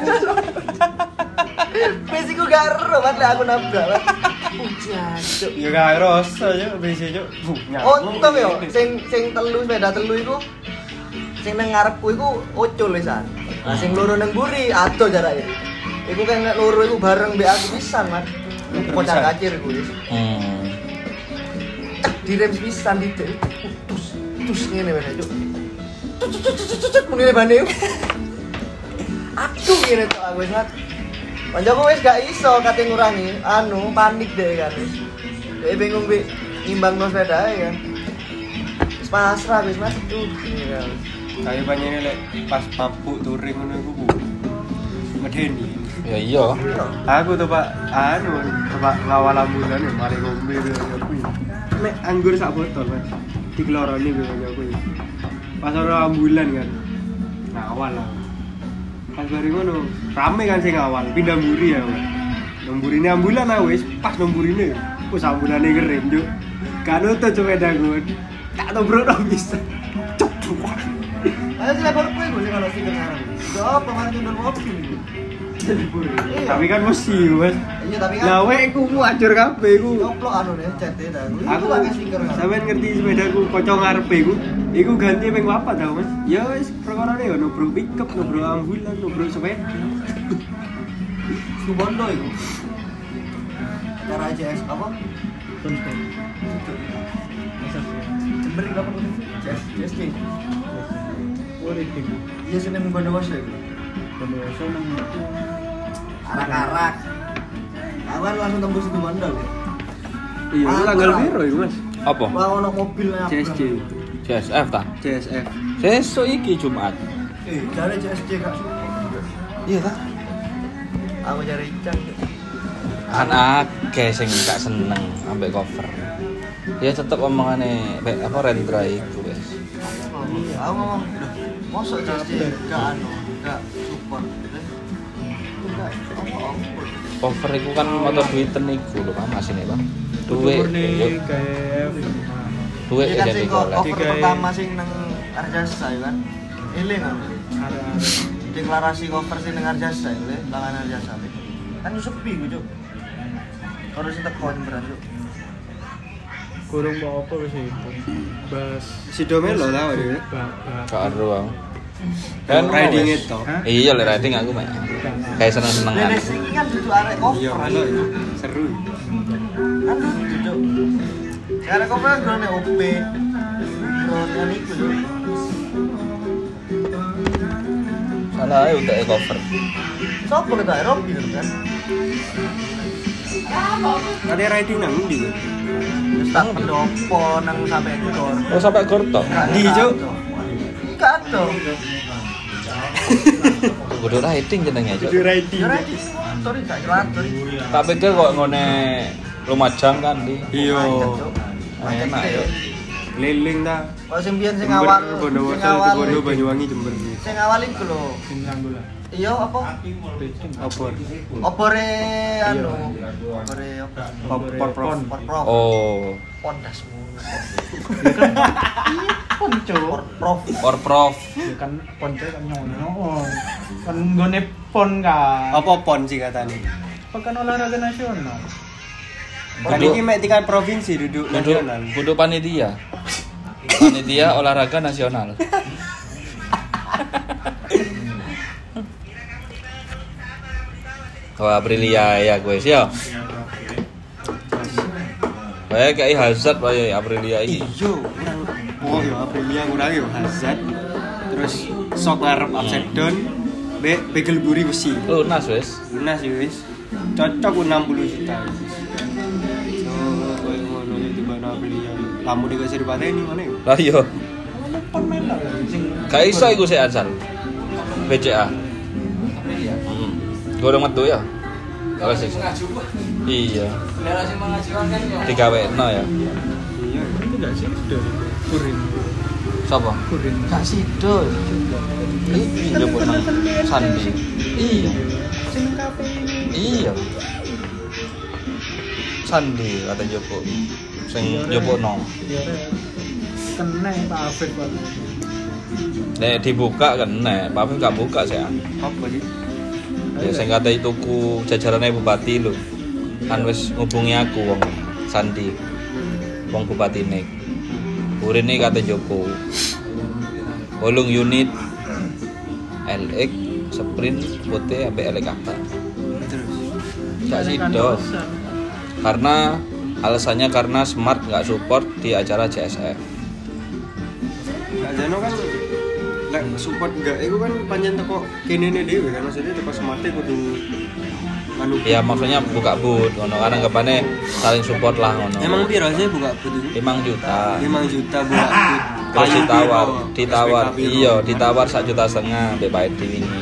Besiku gak ero man lek aku nabrak man. Pucak. Ya gak rasa yo bisi yo. Untung yo sing sing telu sepeda telu iku sing nang ngarepku iku ocul wisan. Lah sing loro nang mburi ado jarake. Iku kan nek loro iku bareng mbek aku pisan man. Kocak kacir iku wis. Hmm. Cek direm pisan didik. Tus tus ngene wae cuk. Cuk muni bane. Aduh ngene tok aku wis mat. Kancaku wis gak iso kate ngurangi anu panik deh kan wis. Dek bingung mbek nimbangno sepedae kan. Wis pasrah wis Mas. Duh. Kayak panjene lek pas mabuk touring ngono iku ku. Medeni. Ya iya. Aku tuh Pak, anu, Pak ngawal ambulan ya, mari ngombe aku. Nek anggur sak botol, Mas. Dikeloroni gue aku. Pas ora ambulan kan. Ngawal lah. Pas bari ngono, rame kan sing ngawal, pindah mburi ya, Mas. Nomburine ambulan ah wis, pas nomburine. Wis ambulane ngerem, Juk. Kan nutut sepeda gue. Tak tobrok bisa. Cuk. Ayo sing lapor kowe gue sing ono stiker ngarep. Yo apa malah nyundul mobil iki. Tapi kan mesti, Mas. Iya tapi kan Lah wek ku ajur kabeh ku. Nyoplok anu ne cete ta. Aku pakai stiker ngarep. sampean ngerti sepedaku kocok ngarepe iku. Iku ganti ping papat ta, Mas. Ya wis perkarane ya nubruk pickup, nubruk ambulan, nubruk sepeda. Subondo iku. Cara J S apa? Jember iki apa namanya? J S J S K. Iya sini mung Bondowoso iku. Bondowoso nang itu. Arak-arak. Awan langsung tembus itu Bondo. Iya, Ah, tanggal kurang. piro iku, Mas? Apa? Wah ono mobilnya. C S J. C S F ta? C S F. Sesuk iki Jumat. Eh, cari C S J gak suka. Iya ta? Aku cari Ican. Kan akeh sing gak seneng ambek cover. Ya tetep omongane baik apa Rendra iku wis. Oh, iya, aku ngomong, "Duh, mosok C S J gak anu, gak support." Enggak, apa-apa. Cover iku kan motor duiten iku lho Pak masine Pak. Duwe. Murni kayak Duwe Ini kan jadi sing golek. cover Digawe- pertama sing nang Arjasa ya kan. Eling kan. Ada Deklarasi cover sing ning Arjasa iki, langan Arjasa. Kan yo sepi ku, Cuk. Kalau sing teko beneran, Cuk. kurung apa wis itu. Bas Si Domelo lah wae. Karo aku. Kan Kan riding wis. itu. Iya, le riding aku mah. Kayak seneng-senengan. Nenek iki kan duduk arek cover. Iya, melo itu. Seru. Kan duduk. Arek cover kan grone O P. Grone iku, Cuk. Salah ae utek cover. Sopo kita Robi kan? Ada riding nang ndi? Wis tak pendopo nang sampe ekor. Oh, sampai gortok. Di, Cuk. Enggak ada. Kudu riding jenenge, Cuk. Di riding. Ya rek, sorry gak jelas, sorry. Tak pikir kok ngone Lumajang kan di. Iya. Enak ya. Keliling ta. Kalau sing biyen sing Jember, awal, Bondowoso, sing awal, Bondo, Banyuwangi, Jember. sing awal iku lho. bintang bola. Iya apa? Opor. Opore anu, opore apa? Por- Porprov. Porprov. Oh, Pondasmu. Ponco. Porprov. or prof. Ya kan ponco kan nyono. Kan nggone pon kan. Apa pon sih katanya? Pekan olahraga nasional. Kan ini mek tingkat provinsi duduk Kudu nasional. kudu panitia. Panitia olahraga nasional. Wah, Aprilia ya gue sih ya. Kayak kayak Hazard wae Aprilia iki. Iya, kurang. Oh ya Aprilia kurang ya Hazard. Terus sok ngarep upside down. Be begel buri besi. Lunas wes. Lunas ya wis. Cocok enam puluh juta. So, koyo ngono iki tiba Aprilia. Lamu dikasih dipateni mana ya? Lah iya. Pon menor sing Gak iso iku sik Ansar. B C A. Hmm. Gorong metu ya. Kalau sih. Iya. Digawekno ya. Iya. itu enggak sih udah kurin. Sapa? Kurin. Gak sido. Iki njupuk nang Sandi. Iya. Sing kafe ini. Iya. Sandi kata njupuk. Sing njupukno. Ya rek. Kena Pak Afif Pak. Nek dibuka kan nek, Pak Afif gak buka sih. Apa sih? Ya sing kate tuku jajarane bupati lho. Kan wis ngubungi aku wong Sandi. Wong bupatine. Urine kate Joko. Wolung unit L X sprint putih sampai L X apa. Terus. Gak sido. Karena alasannya karena Smart nggak support di acara J S F. Kak Jano kan lek support enggak iku kan pancen teko kene dhewe kan maksudnya teko smarte kudu anu. Ya maksudnya buka booth ngono kan anggapane saling support lah ngono. Emang piro sih buka booth itu? lima juta. lima juta buka booth. Terus ditawar, piro? ditawar, S P K piro? iya, ditawar sak juta setengah mbek Pak Edi wingi.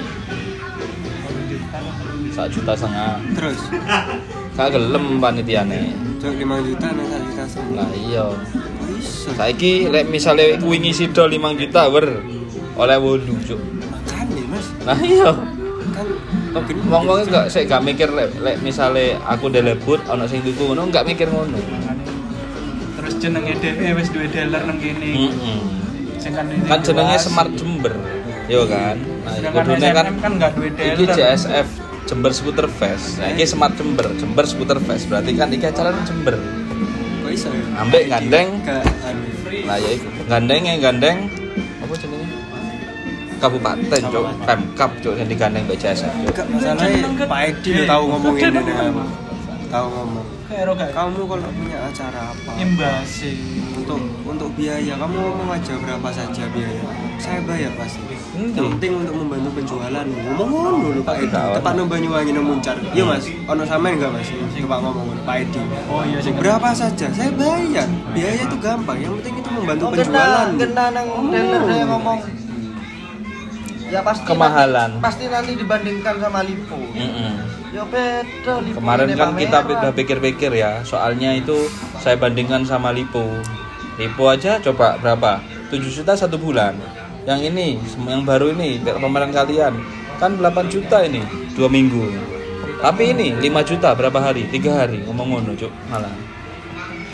Sak juta setengah. Terus Gak gelem panitiane. cok lima juta nang satu juta setengah. Lah iya. Bisa. Saiki lek misale iku wingi sida lima juta wer oleh wolu, Cuk. Makane Mas. Nah iya. Kan Wong-wong gak sik gak mikir lek lek misale aku delebut ana sing tuku ngono gak mikir ngono. Terus jenenge dhewe wis duwe dealer nang kene. Heeh. Sing kan ini Kan jenenge jelas. Smart Jember. Yo kan. Nah, Sedangkan kudune S M M kan kan enggak duwe iki dealer. J S F Jember Scooter Fest. Nah, iki Smart Jember, Jember Scooter Fest. Berarti kan iki acara nang Jember. kok iso ya? Ambek gandeng. Ke anu. Lah ya iku. Gandenge gandeng apa jenenge? Kabupaten, Cuk. Pemkap, Cuk, sing digandeng mbek J S F. Cuk. Enggak masalahnya Pak Edi lo tahu ngomongin ini apa? Tahu ngomong. Kero gak Kamu kalau punya acara apa? imbasi. Untuk untuk biaya kamu ngomong aja berapa saja biaya. Saya bayar pasti. Endi? Yang penting untuk membantu penjualan. Ngomong ngono lho Pak Edi. Gak ono. Tepat nang Banyuwangi nang Muncar. Iya Mas, ono sampean enggak Mas? Sing Pak ngomong ngono Pak Edi. Oh iya sing Berapa saja saya bayar. Biaya itu gampang. Yang penting itu membantu Oh, penjualan. kena kena nang dealer dia ngomong. Ya pasti Kemahalan. Nanti, pasti nanti dibandingkan sama Lipo. Heeh. Ya beda Lipo. Kemarin ini kan kita pameran. udah pikir-pikir ya, soalnya itu saya bandingkan sama Lipo. Lipo aja coba berapa? tujuh juta satu bulan. Yang ini, yang baru ini, pameran kalian kan delapan juta ini, dua minggu. Tapi ini lima juta berapa hari? tiga hari, ngomong ngono, Cuk, malah.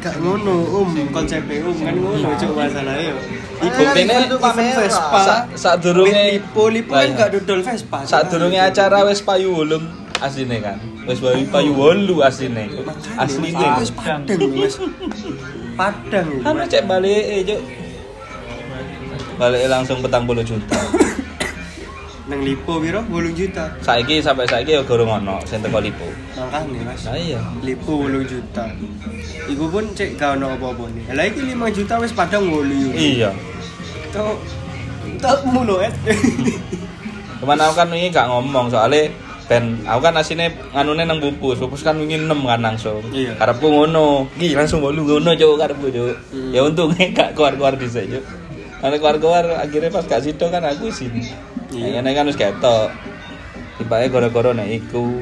Gak ngono, Om. Konsepnya Om kan ngono cuk masalahnya yo. Iku Buktine event kamera. Vespa. Sadurunge lipo lipo kan gak dodol Vespa. Sadurunge acara wis payu wolung asline kan. Wis payu wolu asline. Asline wis padang wis. Padang. Anu cek balike cuk. Balike langsung petang puluh juta. Nang lipo piro? wolung juta. Saiki sampai saiki ya gorong ono sing teko lipo. Makane Mas. Lah iya. Lipo wolung juta. Iku pun cek gak ono apa-apa nih. Lah iki lima juta wis padang wolu. Iya. Tok tok mulo es. Kemana aku kan wingi gak ngomong soalnya ben aku kan asine nganune nang pupus. Pupus kan wingi enam kan langsung. Iya. Karepku ngono. Iki langsung wolu ngono cuk karepku cuk. Hmm. Ya untunge gak keluar-keluar dhisik cuk. Karena keluar-keluar akhirnya pas gak sido kan aku isin. Iya. Iya, kan wis ketok. Tibake gara-gara nek iku.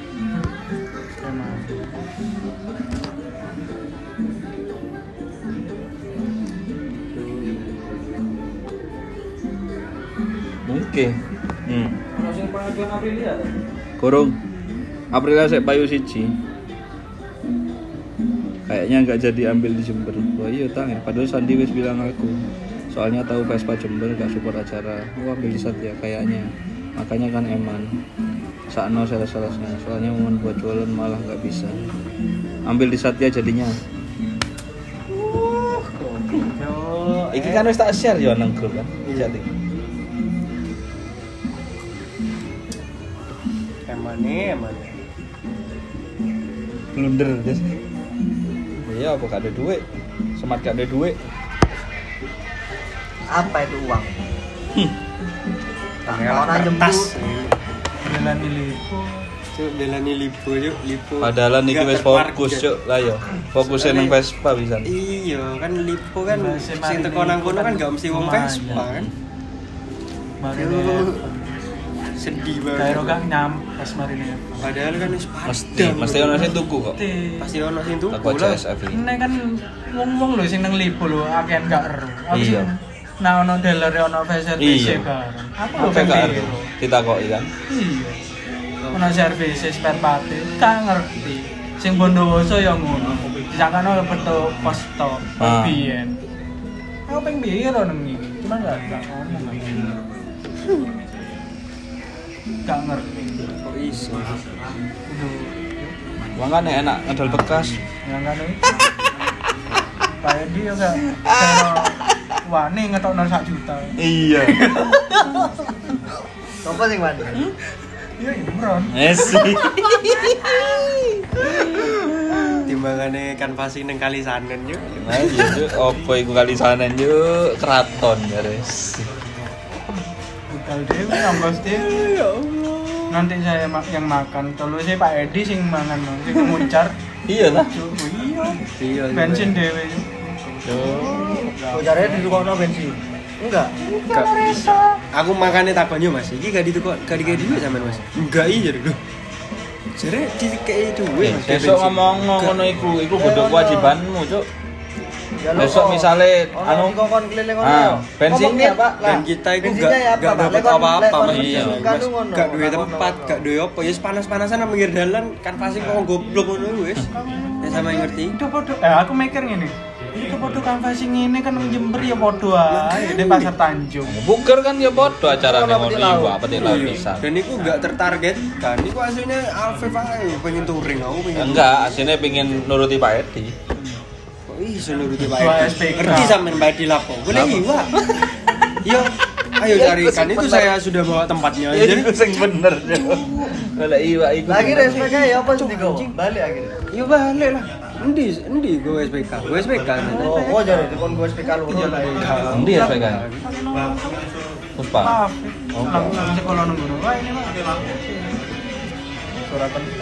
Mungkin. Hmm. Ono sing pengajuan Aprilia ta? Kurung. Aprilia sik payu siji. Kayaknya nggak jadi ambil di Jember. Wah iya tangan. Padahal Sandi wis bilang aku. Soalnya tahu Vespa Jember gak support acara. Wah ambil di Satya kayaknya. Makanya kan eman. Sakno sales-salesnya. Soalnya momen buat jualan malah nggak bisa. Ambil di Satya jadinya. Yo. Iki kan wis tak share yo nang grup kan. Jadi. Emane emane. Blunder guys. Iya apa gak ada duit. Semat gak ada duit. Apa itu uang? Tak Ngelak mau jemput. kertas. Jalan di Lipo. Cuk belani lipo yuk lipo. Padahal niki Nggak wis terparkir. fokus cuk. Lah yo. Fokusnya nang Vespa bisa. Iya kan lipo kan Masih sing mari teko nang kono kan gak mesti wong lumayan. Vespa kan. Mari Cuk, sedih Kayak banget. gak nyam pas mari nih. Padahal kan wis Mesti padang. mesti ono sing tuku kok. Pasti ono sing tuku Aku lah. C S F ini. Ini kan wong-wong lho sing nang Lipo lho akehan gak ero. Aku Iya. sing nah ono dealer ono Vespa Iya. bareng. Aku lho Apa gak pengen ngerti? Ditakoki kan. Iya. Ono servis spare part, gak ngerti. Sing Bondowoso ya ngono. Disangkano beto posto Ah. biyen. Aku pengen biyen nang iki. Cuma gak gak ngomong. Gak ngerti. Kok iso? Kudu Wong kan enak ngedol bekas. yang kan itu. Pak Edi ya gak kaya wani ngetokno sak juta. Iya. Sopo sing mandi? Iya Imron. Esi. Timbangane kan pasti nang kali sanen yo. Nah, iya cuk, opo iku kali sanen yuk keraton garis. Budal dewe ongkos dewe. Ya Allah. Nanti saya ma- yang makan. Kalau saya Pak Edi sing mangan no. Sing muncar. Iya lah. Cuk, iya. Iya. Bensin dewe. Oh, jarene ditukokno bensin. Enggak. Enggak. Aku makane takon yo Mas, iki gak ditukok gak dikei duit sampean Mas. Enggak iya lho. Jare dikei duit Mas. Besok ngomong ngono iku, iku kudu kewajibanmu, Cuk. Ya Besok misale anu anu kokon keliling ngono. Ah, bensinnya, Pak. Dan kita itu bensinnya gak ya, gak Pak? dapat Lekon- apa-apa lekon Mas. Iya. kan ngono. Gak duwe Lekon tempat, ngono. gak duwe apa, ya panas-panasan nang pinggir dalan kan pasti kok goblok ngono wis. Ya sama yang ngerti. Itu podo. Eh aku mikir ngene. Itu podo kanvasing ngene kan nang Jember ya podo ae di Pasar Tanjung. Buker kan ya padha acarane Ono ngono petik laut. iku, petik laut Iya. bisa. Dan itu gak tertargetkan. Iku aslinya Alfie ae pengen touring aku pengen. Enggak, aslinya pengen nuruti Pak Edi. Kok iso nuruti Pak Ketua Edi? S P K. Ngerti sampean Pak Edi lapo? Boleh Lapo? iwa. Yo, ayo Ya, carikan itu itu bener. saya sudah bawa tempatnya. Ya Jadi iku sing bener, Cuk. Kalau iwa iku. Lagi S P K ya apa sih digowo? Balik akhirnya. yo balik lah. Endi endi go S P K? Go S P K. Oh, oh jadi dikon gue S P K lu. Iya lah. Endi ya S P K? Puspa. Maaf. Oh. Langsung sekolah nunggu. Wah ini mah surat penting.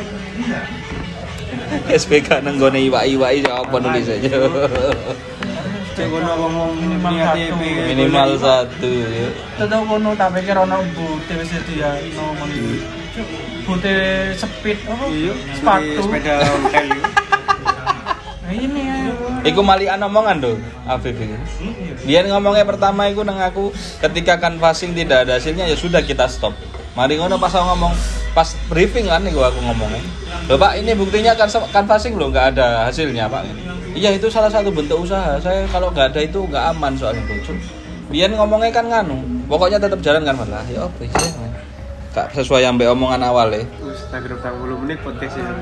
S P K nang gone iwa-iwa iki apa nulis aja. Cek kono ngomong Minimal niat satu. E P. Minimal satu ya. Tetep kono tak pikir ono bute wis dia ngomong iki. Bute speed apa? Iya, Sepatu. sepeda ontel. Nah, ini ya. Iku malian omongan tuh, Afif iki. Dia ngomongnya pertama iku nang aku ketika canvassing tidak ada hasilnya ya sudah kita stop. Mari ngono pas aku ngomong, pas briefing kan nih gua aku ngomongnya. Loh Pak, ini buktinya kan canvassing loh, nggak ada hasilnya Pak. Iya itu salah satu bentuk usaha. Saya kalau nggak ada itu nggak aman soalnya bocor. Biar ngomongnya kan nganu, pokoknya tetap jalan kan malah. Ya apa sih? Gak sesuai yang mbak omongan awal ya. Instagram tiga puluh menit podcast ini.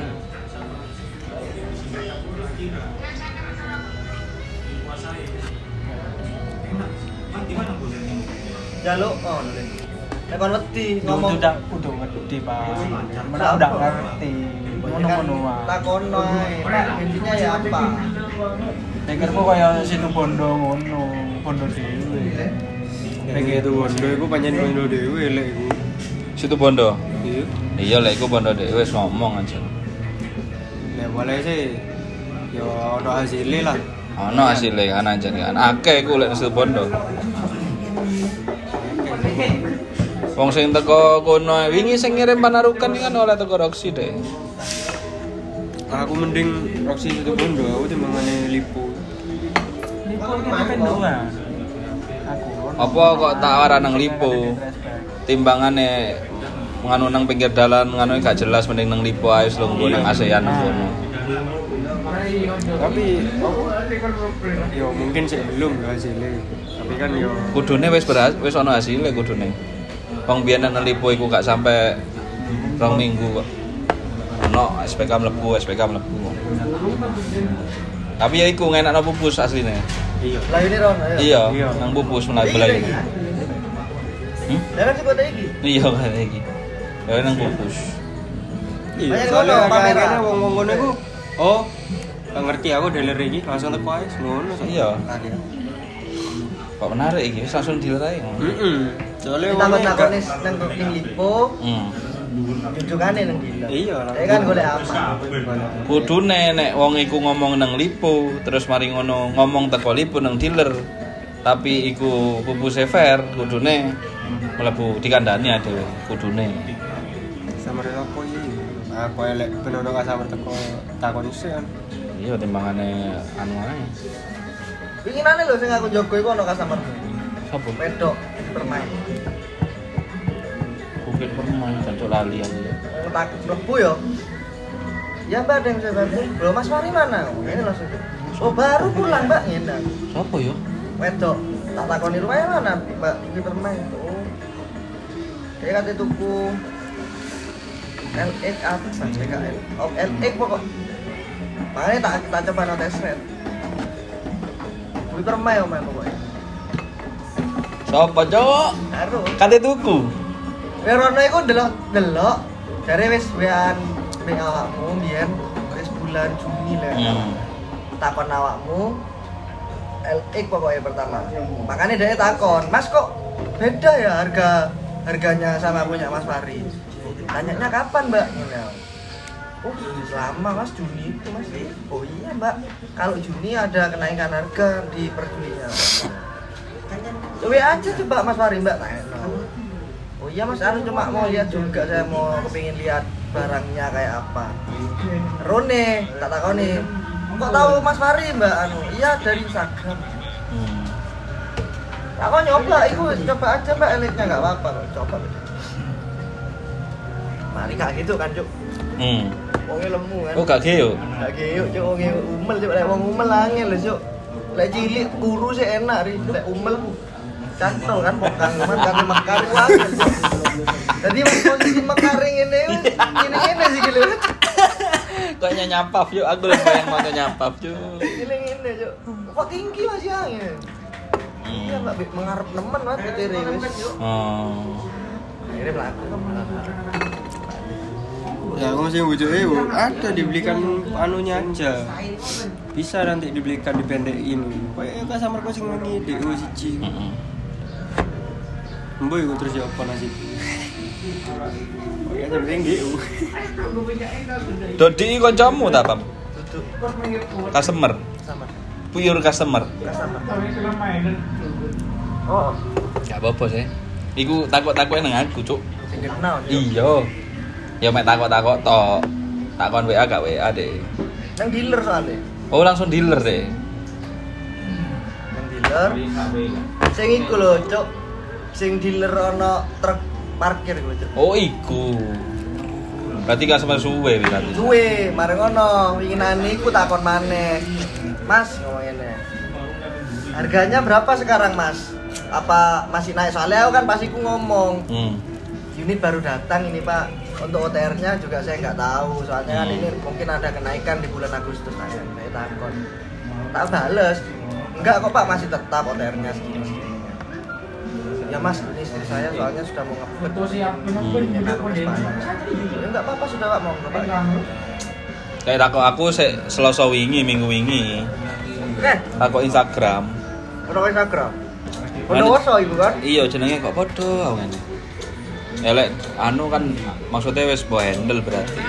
Jaluk on. Nek kon wedi ngomong udah udah ngerti Pak. Mana udah ngerti. Ngono-ngono wae. Takono ae. Pak, intinya ya apa? Pikirku kaya situ bondo ngono, bondo dhewe. Nek itu bondo iku pancen bondo dhewe lek iku. Situ Bondo. Iya. Iya lek iku Bondo dhewe wis ngomong aja. Nek boleh sih yo ono hasilnya lah. Ono hasilnya kan aja kan. Akeh iku lek situ Bondo. Wong sing teko kono wingi sing ngirim panarukan kan oleh teko Roxy deh. Aku mending Roxy situ Bondo, aku timbangane Lipo. Lipo iki pendoan. Aku. Apa kok tak ora nang Lipo? Timbangane nganu nang pinggir dalan nganu gak jelas mending nang Lipo ae wis lungguh nang ASEAN kono. Tapi yo mungkin sih belum hasilnya. Tapi kan yo Kudune wis berhasil, wis ana hasilnya kudune. Wong biyen nang Lipo iku gak sampai rong minggu kok. Ono S P K mlebu, S P K mlebu. Tapi ya iku ngenakno pupus asline. iya. Lah ini Ron, ayo. Iya, Iya. nang pupus menawi belayu. Hmm? Lah kan sing kota iki. Iya kan iki. Ya nang pupus. Iya, Banyak soalnya ngono, pameran. kadang-kadang wong-wong ngono iku oh, gak ngerti aku dealer iki langsung teko ae ngono. Iya. Kok menarik iki wis langsung dealer ae. Heeh. Soalnya Kita wong takon nang ning Lipo, Hmm. jujukane nang dealer. Iya lah. Ya kan golek aman. Kudune nek wong iku ngomong nang Lipo, terus mari ngono ngomong teko Lipo nang dealer. Tapi iku pupuse fair, kudune mlebu dikandani dhewe kudune. Sama apa iki? Aku elek benono ka sama teko takon sih kan. Iya timbangane anu ae. Winginane lho sing aku njogo iku ana customer. Sopo? Wedok bermain. Bukit permain jancuk lali aku ya. Tak mlebu yo. Ya Mbak, ada yang saya bantu. Loh Mas Fari mana? Oh, ini langsung. Oh baru pulang Mbak, ngene. Sopo yo? Wedok. Tak takoni rumahnya mana Mbak? Ini bermain. Oh. Dia kata tuku L X apa P K L. Oh L X pokok. Makanya tak tak coba no test ride. Beli permain om pokoknya. Sopo, Cok? Baru. Kate tuku. Werono iku delok-delok. Jare wis wean ning awakmu mbiyen wis bulan Juni lah. Hmm. Takon awakmu L X pokoknya pertama. Makanya dia takon, "Mas kok beda ya harga harganya sama punya Mas Fari?" Tanyanya kapan, Mbak? Ngene. Oh, lama Mas, Juni itu Mas. Oh iya, Mbak. Kalau Juni ada kenaikan harga di per Juninya. Coba aja coba Mas Fari, Mbak. Tanya. Oh iya Mas, anu cuma mau lihat juga, saya mau kepingin lihat barangnya kayak apa. Rone, tak takoni. Kok tahu Mas Fari, Mbak? Anu, iya dari Instagram. Hmm. Aku nyoba, itu coba aja Mbak, elitnya nggak apa-apa, coba. Mari kak gitu kan Cuk. Hmm. Wongnya lemu kan. Oh gak geo. Gak geo Cuk, wongnya umel Cuk, lek wong umel angel lho Cuk. Lek cilik guru sih enak ri, lek umel cantol kan pokang cuman kate mekar angel. Jadi mas posisi mekar ngene ngene-ngene sih gitu. Kayaknya nyapaf yuk, aku lebih bayang mau nyapaf yuk. Ngene-ngene Cuk. Kok tinggi masih angel. Iya Mbak mengarep nemen banget ketire wis. Oh. Akhirnya melaku. Ya aku masih bujuk eh ada dibelikan anunya aja. Bisa nanti dibelikan dipendekin. Kayak customer ku sing ngi D O siji. Heeh. Mbok iku terus ya apa nasib. Kayak sampeyan D O. Dodi kancamu ta, Pam? Duduk Customer. sama Pure customer. sama. Oh, Gak apa-apa sih. Iku takut-takutnya nang aku, Cuk. sing kenal Cuk. Iya. Ya mek takut-takut tok. Takon W A gak W A deh. Nang dealer soalnya. Oh, langsung dealer deh. Nang dealer. Sing iku lho, Cuk. Sing dealer ana truk parkir gue Cuk. Oh iku. Berarti gak sama suwe berarti. Suwe, mari ngono, winginane iku takon maneh. Mas, ngomong ngene. Harganya berapa sekarang, Mas? Apa masih naik? Soalnya aku kan pasti ku ngomong. Hmm. Unit baru datang ini, Pak. Untuk O T R-nya juga saya nggak tahu. Soalnya kan Hmm. ini mungkin ada kenaikan di bulan Agustus nanti. Saya takon. Tak bales. Enggak kok, Pak, masih tetap O T R-nya segini. Ya Mas, ini istri saya soalnya sudah mau ngebut. Betul siap. Ya kan, Mas, Pak. Ya enggak apa-apa sudah, Pak, mau ngebut. Kayak takut aku se Selasa wingi, minggu wingi. Eh, Takut Instagram. ono Instagram. Mana- Ono woso ibu kan? Iya jenenge kok padha aku ngene. Elek anu kan maksudnya wis bo handle berarti.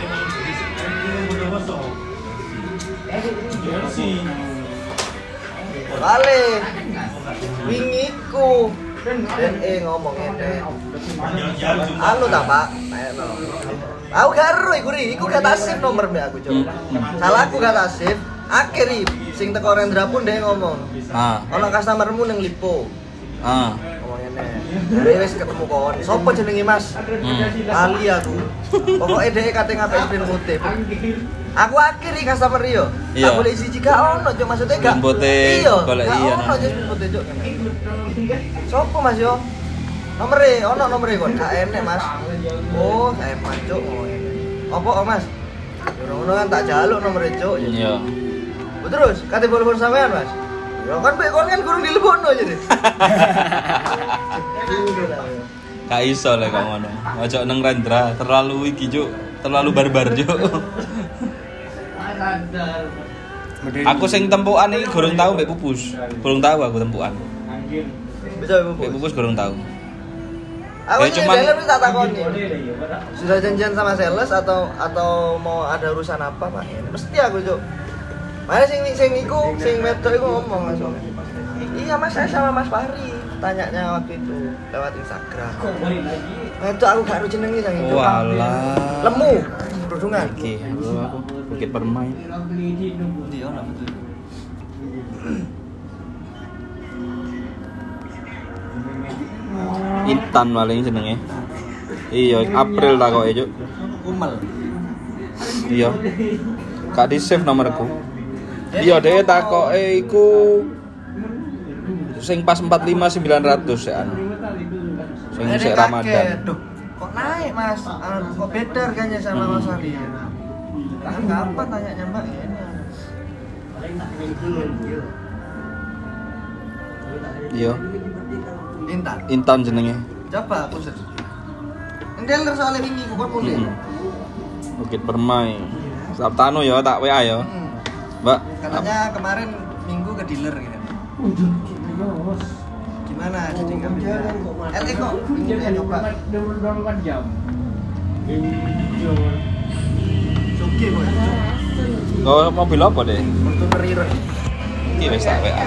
Bale. Wingiku. Dan eh ngomong ngene. Anu ta, Pak? Ayo. Aku garu iku ri, iku gak tasif nomor mbak aku coba. Salah aku gak tasif. Akhiri sing teko Rendra pun dia ngomong. Ah, Ono customermu ning Lipo. ah. Ngomong ngene. Dari wis ketemu kon. Sopo jenenge Mas? Hmm. Ali aku. Pokoknya dia kate ngapik sprint putih. Aku akhiri customer yo. Iya. Tak boleh siji gak ono, Cuk. Maksudnya gak. Sprint putih, Iya, golek gak iya, ono nah. aja sprint putih, Cuk. Sopo Mas yo? Nomere, ono nomere kon. Gak enek, Mas. Oh, saya Cuk. Opo, oh, Mas? Yo ngono kan tak jaluk nomere, Cuk. Iya. Oh, terus kate telepon sampean, Mas. Ya kan pek kon kan kurang dilebokno jadi. Gak iso lek kok ngono. Ojo neng Rendra, terlalu iki juk, terlalu barbar juk. Aku sing tempukan iki gorong tau mbek Pupus. Gorong tau aku tempukan. Bisa Ibu. Mbek Pupus gorong tau. Aku Ya, sih cuman- seller tak takoni. Sudah janjian sama sales atau atau mau ada urusan apa, Pak? Mesti aku, Cuk. Mana sing sing iku, sing wedok iku ngomong langsung. Iya, Mas, saya sama Mas Fahri. Tanyanya waktu itu lewat Instagram. Nah, itu aku gak ero jenenge sang itu. Walah. Lemu, kerudungan. Iki, lho aku Bukit Permai. Iya, ono betul. Intan paling jenenge. Iya, April tak kok juk. Kumel. Iya. Gak di save nomorku. Iya, dhewe takoke iku sing pas empat puluh lima sembilan ratus ya anu. Sing Ada sik kaget. Ramadan. Duh, kok naik, Mas? Ah, kok beda harganya sama Mas Fahri? Kan kapan tanyanya, Mbak? Ini. Iya, Intan. Intan jenenge. Coba aku search. Endeler soalnya wingi ku kon mulai. Mm-mm. Bukit Permai. Sabtano ya tak W A ya. Hmm. Mbak. Katanya kemarin minggu ke dealer gitu. Gimana jadi nggak bisa? L E kok ini ya coba. Oke boy. Kau mobil apa deh? Fortuner Hero. Iki wis tak W A.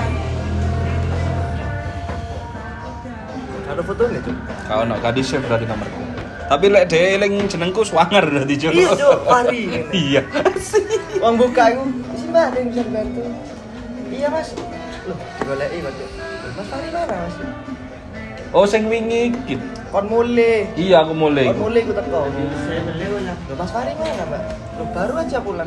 Ada fotonya tuh. Kau ono gak di save berarti nomorku. Tapi lek dhewe eling jenengku swanger berarti Cuk. Iya Cuk, Fahri. Iya. Uang buka aku. Isi Mbak, ada yang bisa bantu. Iya Mas. Loh, digoleki kok Cuk. Mas Fahri mana Mas? Oh sing wingi iki. Kon mulai. Iya aku mulai. Kon mulai ku teko. Loh, Mas Fahri mana, Mbak? Loh, baru aja pulang.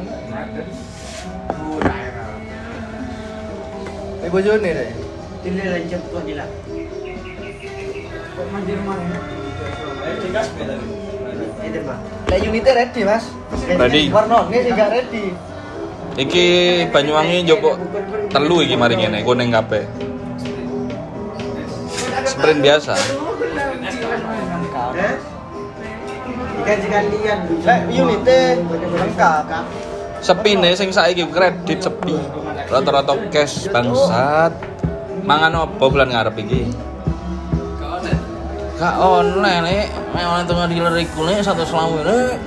Ini bojone deh. Ini lanjut kok gila. Kok mandir mana? Ini, Pak. Lah unitnya ready, Mas. Ready. Warnane sing gak ready. Iki Banyuwangi njupuk telu iki mari ngene, kuning kabeh. Sprint biasa. Gaji kalian. Lah unitnya lengkap. Sepine sing saiki kredit sepi. Rata-rata cash bangsat. Mangan opo bulan ngarep iki? Gak online nek, mek online tengah dealer iku nek satu selawe nek.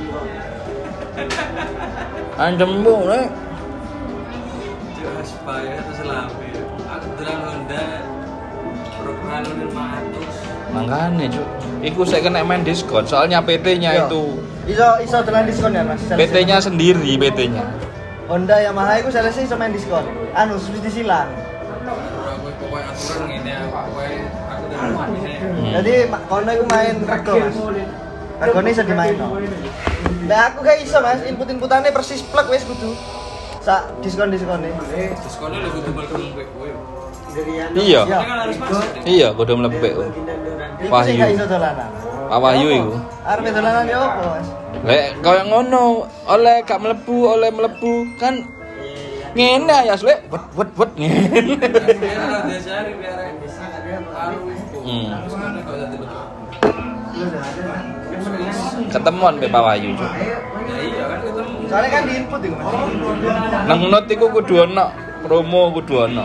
Ancem bu nek. Jelas bayar itu selama. Aku bilang Honda program lima ratus. Makane cuk. Iku saya kena main diskon soalnya P T-nya Iya. itu. Iso iso dengan diskon ya, Mas. P T-nya sendiri P T-nya. Honda Yamaha itu salesnya iso main diskon. Anu, subsidi silang. Aku pokoknya aturan ini pokoknya aku Hmm. Jadi ma- kono iku main rego Mas. Regone iso dimainno. Lah aku gak iso Mas, input-inputane persis plek wis kudu. Sak diskon-diskone. Diskonnya lebih tebal tebal kowe. Iya. Iya. Kan harus masuk. Iya, kudu mlebu. Iku sing Wahyu. gak iso dolanan. Pak Wahyu iku. Arep dolanan ya opo Mas? Lek kaya ngono, oleh gak mlebu, oleh mlebu kan ngene ya, Lek. Wet wet wet ngene. Biar biasa biar Hmm. diskonnya kalau jadi betul. Ketemuan be Pak Wahyu, Cuk. Ya iya kan ketemu. Soalnya kan diinput iku Mas. Nang not iku kudu ono promo kudu ono.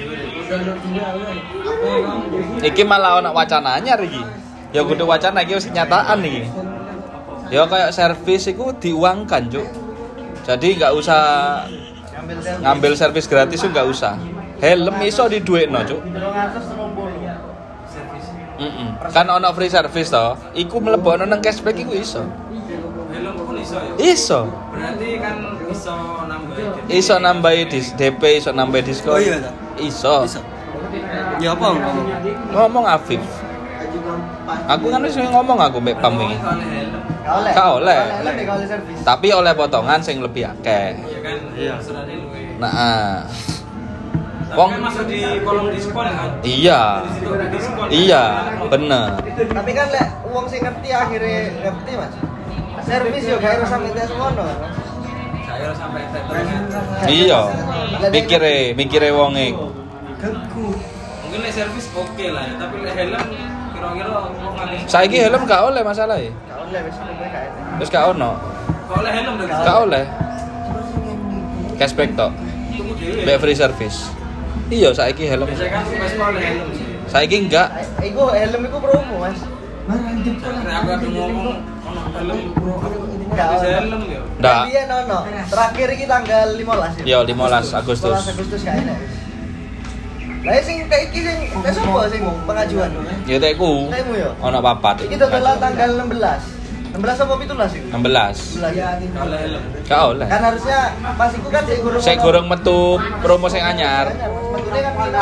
Iki malah ono wacana anyar iki. Ya kudu wacana iki wis kenyataan iki. Ya kayak servis iku diuangkan, Cuk. Jadi nggak usah Ngambil tel. ngambil servis gratis tuh nggak usah. Helm iso diduekno, Cuk. dua ratus tiga puluh. Heeh. Kan ono free service to. Iku mlebokno nang cashback iku iso. Helm pun iso ya. Iso. Berarti kan iso nambahin. Iso nambahi dis D P, iso nambahi diskon. Oh iya, Ta? Iso. Bisa. Ya apa ngomong? Ngomong Afif. Aku kan wis ngomong aku mbek Pam iki. Kalau helm. Gak oleh. Gak oleh. Gak oleh gak oleh servis. Tapi oleh potongan sing lebih akeh. Iya kan. Iya. Serane luwe. Nah, Tapi Wong- kan masuk di kolom diskon kan. iya. Di situ ada diskon. Iya, bener. Tapi kan lek wong sing ngerti akhirnya ngerti Mas. Servis yo gak harus sampe tes ngono. Saya sampai tetep. Iya. Mikire, mikire wonge. Geku. Mungkin lek servis oke lah ya, tapi lek helm kira-kira wong ngalih. Saiki helm gak oleh masalah ya. Gak oleh wis kowe gak enak. Terus gak ono. Kalau lek helm dari Gak oleh. Cashback tok. tunggu dhewe. Mbek free service. Iya, saiki helm. Biasanya kan wis oleh helm sih. Saiki enggak. Eh, Iku helm iku promo Mas. Karena aku ada ngomong ono helm Gak bisa ono. helm ya. Ndak. Iya nono. Terakhir iki tanggal lima belas ya. Yo lima belas Agustus. lima belas Agustus gak enak wis. Lah sing kayak iki sing tes apa sing pengajuan? Ya teku. Temu yo. Ono papat. Iki total tanggal enam belas. enam belas apa tujuh belas itu? enam belas. enam belas. Kalau helm. Gak oleh. Kan harusnya pas iku kan sik gurung. Saya gorong metu promo sing anyar. Metune kan kita.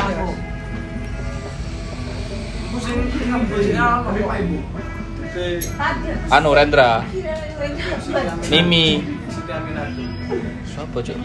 Iku sing ngambusnya apa Pak Ibu? Anu Rendra, Mimi. Siti Aminati. Siapa, Cuk?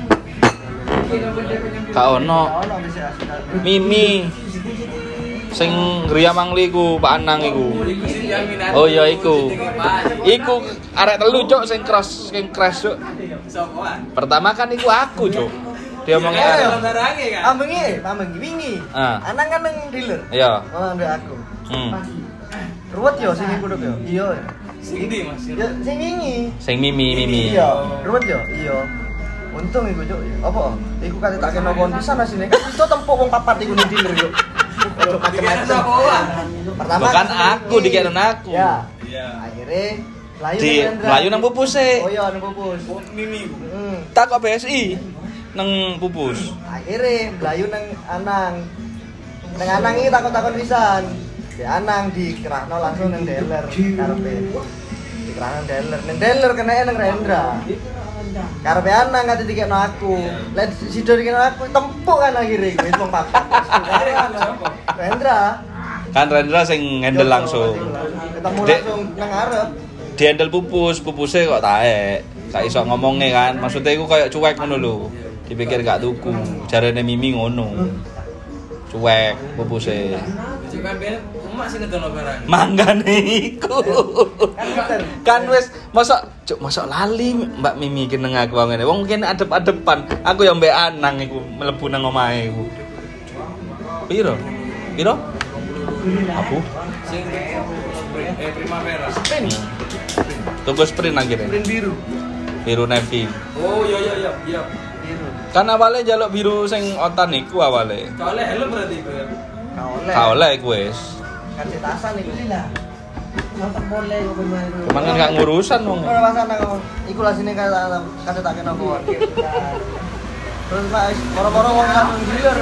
Gak ono. Ono bisa asal. Mimi. Sing Gria Mangli ku, Pak Anang iku. Iku Siti Aminati. Oh iya iku. Pak. Iku arek telu, Cuk, sing cross, sing crash, Cuk. Sopoan. Pertama kan iku aku, Cuk. Dia omongnya Iya, arek. Helm barange kan. Ambengi, ambengi wingi. Ah. Anak kan nang dealer. Iya. Oh, ndek aku. Hmm. Ruwet yo sing iku yo. Iya. Sing ndi Mas? Ya sing wingi. Sing Mimi, Mimi. Iya, ruwet yo. Iya. Untung iku, Cuk. Apa? Iku kate tak kena kondisan asine. Kan iso tempuk wong papat iku ning dealer yo. Ojo Dikira macam-macam. sopoan. Pertama Bukan kan aku, wingi. dikira aku. Ya. Iya. Akhirnya Melayu Di nang Rendra. Melayu nang pupus e. Oh iya nang pupus. Oh, Mimi. Bu. Hmm. Tak kok B S I nang pupus. Akhirnya Melayu nang Anang. Nang Anang iki takon-takon pisan. Di Anang dikerahno langsung nang dealer karepe. Dikerahno nang dealer. Nang dealer kena nang Rendra. Karepe Anang kate dikekno aku. Lah sido dikekno aku tempuk kan akhirnya wis wong papat. Rendra. Kan Rendra sing handle langsung. Ketemu Dek. langsung nang ngarep. Di handle pupus, pupusnya kok taek. Gak iso ngomongnya kan. Maksudnya iku kayak cuek ngono lho. Dipikir gak tuku. Jarene Mimi ngono. Cuek pupusnya. Cek kan ben emak sing ngedono barang. Manggane iku. Kan bener. Kan wis mosok cuk mosok lali Mbak Mimi ki nang aku ngene. Wong kene adep-adepan. Aku ya mbek Anang iku mlebu nang omahe iku. Piro? Piro? Aku. Sing eh Primavera. Tuku sprint akhirnya. Print biru. Biru navy. Oh iya iya iya iya. Biru. Kan awalnya jaluk biru sing otan iku awalnya. Kalau helm berarti itu ya. Gak oleh. Gak oleh iku wis. Kan cetasan iku sih lah. Mantap boleh iku bener. Cuman kan gak ngurusan wong. Ora pasana kok. Iku lah sini kata kata tak kena kon. Terus Pak moro-moro wong langsung dealer.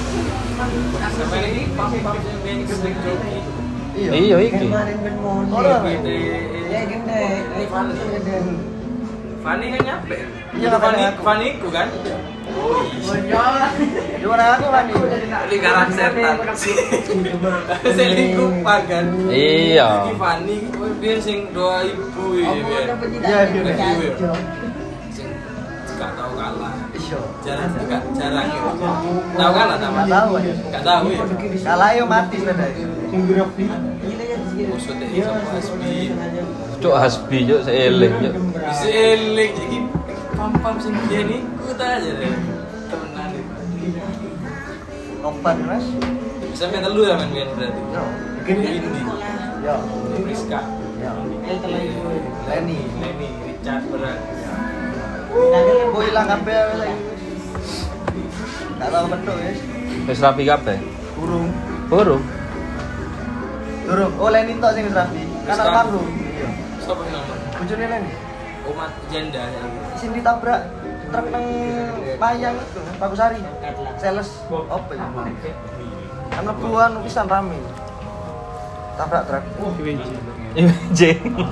Sampai ini pam-pam sing ben sing joki. Iya. Iya iki. Ora. Gede. Ya gede. Fanny kan nyampe. Iya, nggak Fanny, pada aku. Fanny ku kan. Oh iya. Di mana aku Fanny? Lingkaran setan. Selingkuh kan. Iya. Iki Fanny oh, dia sing doa ibu ya. Iya, iya. Sing gak tahu kalah. Iya. Jarang gak jarang ya. Tahu kalah ta? Nggak tahu ya. Gak tahu ya. Kalah yo mati sepeda itu. Maksudnya sama Hasbi. Cuk hasbi cuk seeling cuk. Bisa eling iki pam-pam sing dia niku ta aja deh. Temenan iki. Opan Mas. Sampai telu ya men biyen berarti. Yo. Indi. Yo. Priska. Yo. Leni. Leni Richard berat. Kok hilang kabeh lagi. Enggak tahu bentuk ya. Wis rapi kabeh. Burung. Burung. Durung. Oh Leni tok sing wis rapi. Kan Wis kan. panggung. Iya. Sopo yang nama? Bojone Leni. Umat janda ya. Sing ditabrak truk nang Mayang itu, Bagusari. Sales apa ya? Kan lebuan pisan rame. Tabrak truk. J.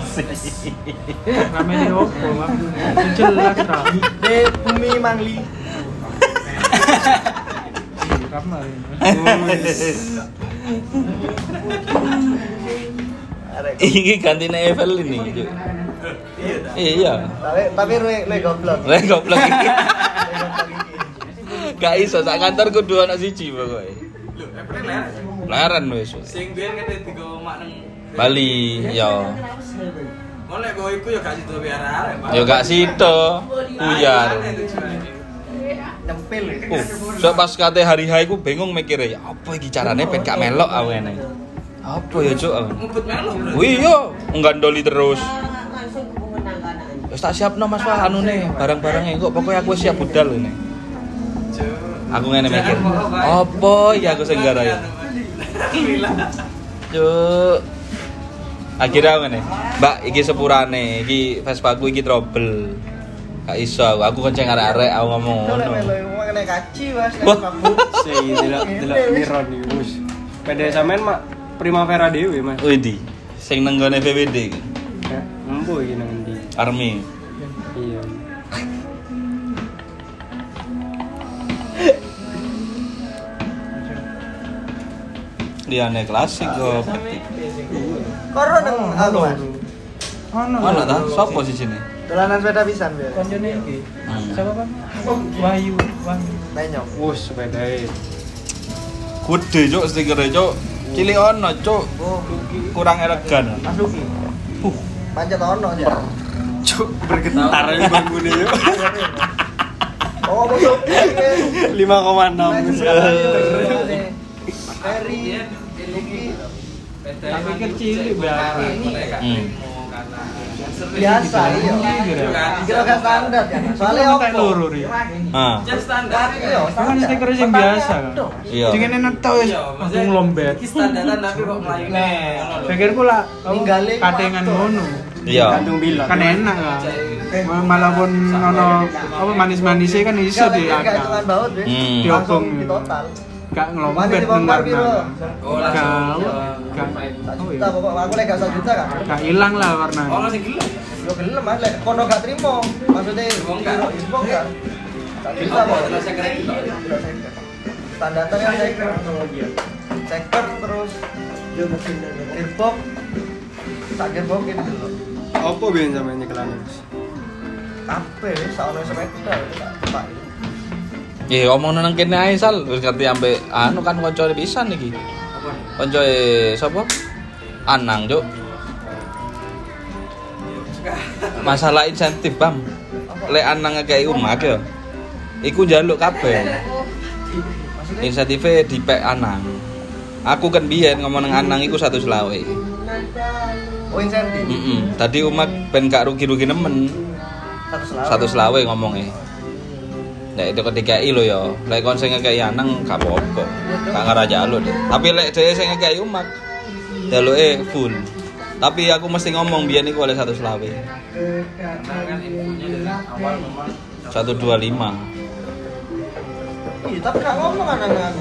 Namanya opo? Jelas ra. Di Bumi Mangli. Kamar. Iki gantine Evelyn nih cuk. Iya. Tapi tapi ruwe le goblok. Lah goblok iki. Gak iso sak kantor kudu ana siji pokoke. Lho, April ler. Laren wis. Sing biyen kate digo mak nang Bali, yo. Molek go iku ya gak sido arek-arek, Pak. Yo gak sida. Buyar. Nyempil. Uh, so pas kate hari H iku bingung mikire, ya apa iki carane ben gak melok aku ngene. Apa ya cuk? Ngumpet melo, Bro. Wih yo, nggandoli terus. Wis tak siapno Mas Wah anune, barang-barangnya kok pokoknya aku siap budal ini. Aku ngene mikir. Apa ya aku sing gara ya? Cuk. Akhirnya ngene. Mbak, iki sepurane, iki Vespaku iki trouble. Gak iso aku, aku kenceng arek-arek aku ngomong Itu le ngono. melo ngene kaci Mas, Wah. mabuk. Sing delok delok Miron iki wis. Pede sampean mak Primavera dhewe Mas. Widi, sing nang gone V W D iki. Ya, empo iki nang endi? Army. Iya. Liane klasik kok. Koro nang aku Mas. Ono. Mana ta? Sopo sih sini? Dolanan sepeda pisan biar. Konjone iki. Hmm. Siapa, Bang? Wahyu, Wahyu. Nenyong. Wus sepedae. Gede cuk stikere cuk. Cilik ono cuk. Oh, Kurang elegan. Mas Luki. Huh. Pancet ono ya. Cuk bergetar aja bangune yuk. Oh, Mas Luki. lima koma enam. Ferry, Luki. Tapi kecil biasa. Hmm. Biasa iya. Kira gak standar ya. Soalnya Kayak opo? loro ri. Ah. Jan standar. Iya, Kan stiker sing biasa kan. Iya. Sing ngene netok wis langsung lombet. Iki standaran tapi kok mlayune. Pikirku lah Ninggalin katengan ngono. Iya. Gantung bilang. Kan enak kan. Malah pun ono apa manis-manisnya kan iso di Gak hitungan akal. baut wis. Hmm. Langsung Diobong. di total. Gak Mati ngelombet dibongkar dengar piro? nah. Oh, langsung. Gak Satu oh juta iya. pokok aku lek gak satu juta kan. Gak ilang lah warna. Oh, masih gelem. Yo gelem Mas lek kono gak trimo. Maksudnya Dibongkar. dibongkar. Satu juta Apa? kok. Terus second itu. Standarnya kan second. Second terus gearbox. Tak gearbox ini dulu. Apa biyen sampean nyekelane Mas? Kabeh saono sepeda tak Pak. Ya omong nang kene ae sal wis ngerti ampe anu kan kancane pisan iki. Apa? Kancane sapa? Anang, Cuk. Masalah insentif, Bang. Lek Anang ngekei umak ya. Iku njaluk kabeh. Insentifnya dipek Anang. Aku kan biyen ngomong nang Anang iku seratus selawe. Oh insentif. Heeh. Tadi umak ben gak rugi-rugi nemen. Satu selawe. seratus selawe ngomongnya. Nek itu ketika i lo ya, lek kon sing ngekei Anang gak apa-apa. Gak ngaraja lo deh. Tapi lek dhewe sing ngekei umak jaluke full. Tapi aku mesti ngomong biyen iku oleh seratus selawe. Karena kan infonya dari awal memang seratus dua puluh lima. Iya, tapi gak ngomong anak aku.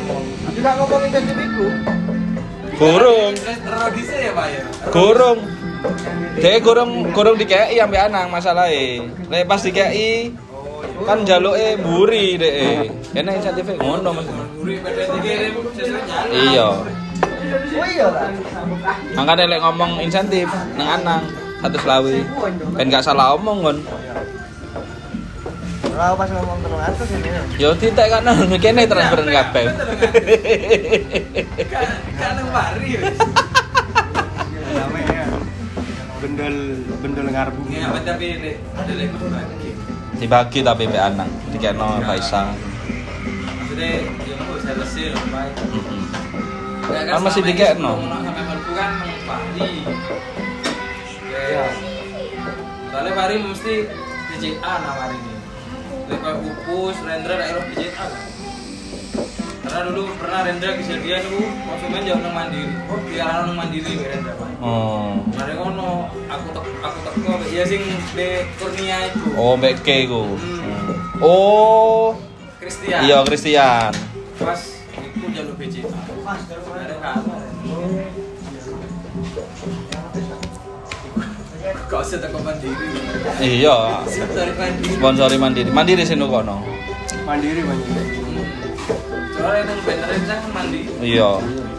Gak ngomong insentif iku. Gorong, terus terus ya Pak ya. gorong. Dek gorong gorong dikei ambek Anang masalahe. Lek pas dikei kan jaluke mburi dek. Kene insentif ngono Mas. Mburi pada dikirim sesuai jalan. Iya. Oh iya lah. Makane lek ngomong insentif nang Anang seratus lawi. Ben gak salah omong kon. Ora pas ngomong telung atus ini. Yo titik kan kene transferan kabeh. Kan nang mari wis. Namanya bendel bendel ngarbu. Ya apa tapi nek ada lek berbagi. Dibagi tapi mbek Anang dikekno Faisal. Maksudnya yo kok selesai lho, Pak. Heeh. Kan masih dikekno. Sampai merku kan Pari. Ya. Soalnya Pari mesti D J A nawari ini. Lek koyo Upus, Rendra daerah D J A kan. Karena dulu pernah Rendra kejadian dulu konsumen jauh nang Mandiri. Oh, dia nang Mandiri wae Rendra, Pak. Oh. Mare kono aku tek aku teko ya sing de Kurnia itu. Oh, mbek K ku. Hmm. Oh. Christian. Iya, Christian. Pas iku jalur B J A. Pas ada kamar. Kau usah teko Mandiri. Iya. Sponsori Mandiri. Sponsori Mandiri. Mandiri sing kono. Mandiri banyak. Soalnya itu beneran kan Mandiri. Iya.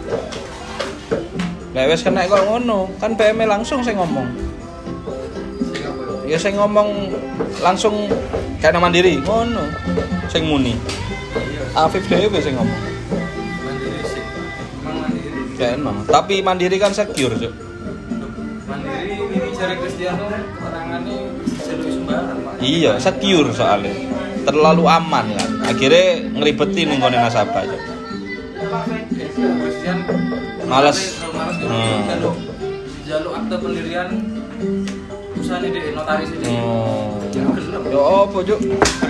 Lek wis kena kok ngono, kan P M langsung sing ngomong. Ya sing ngomong langsung kayak Mandiri, ngono. Sing muni. Afif dhewe sing ngomong. Mandiri sih. Emang Mandiri. Kayakno. Tapi Mandiri kan secure, Cuk. Mandiri ini cari Cristiano keterangannya lebih sembarang, Pak. Iya, secure soalnya. Terlalu aman kan. Akhirnya ngeribeti ning gone nasabah, Cuk. Cristian Males. Males Hmm. jaluk jaluk akte pendirian perusahaan ini di notaris ini. Oh. Gelem. Ya apa, Cuk?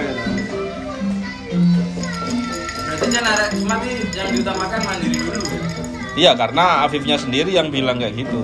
Berarti jangan ada mati yang diutamakan Mandiri dulu. Iya, karena Afifnya sendiri yang bilang kayak gitu.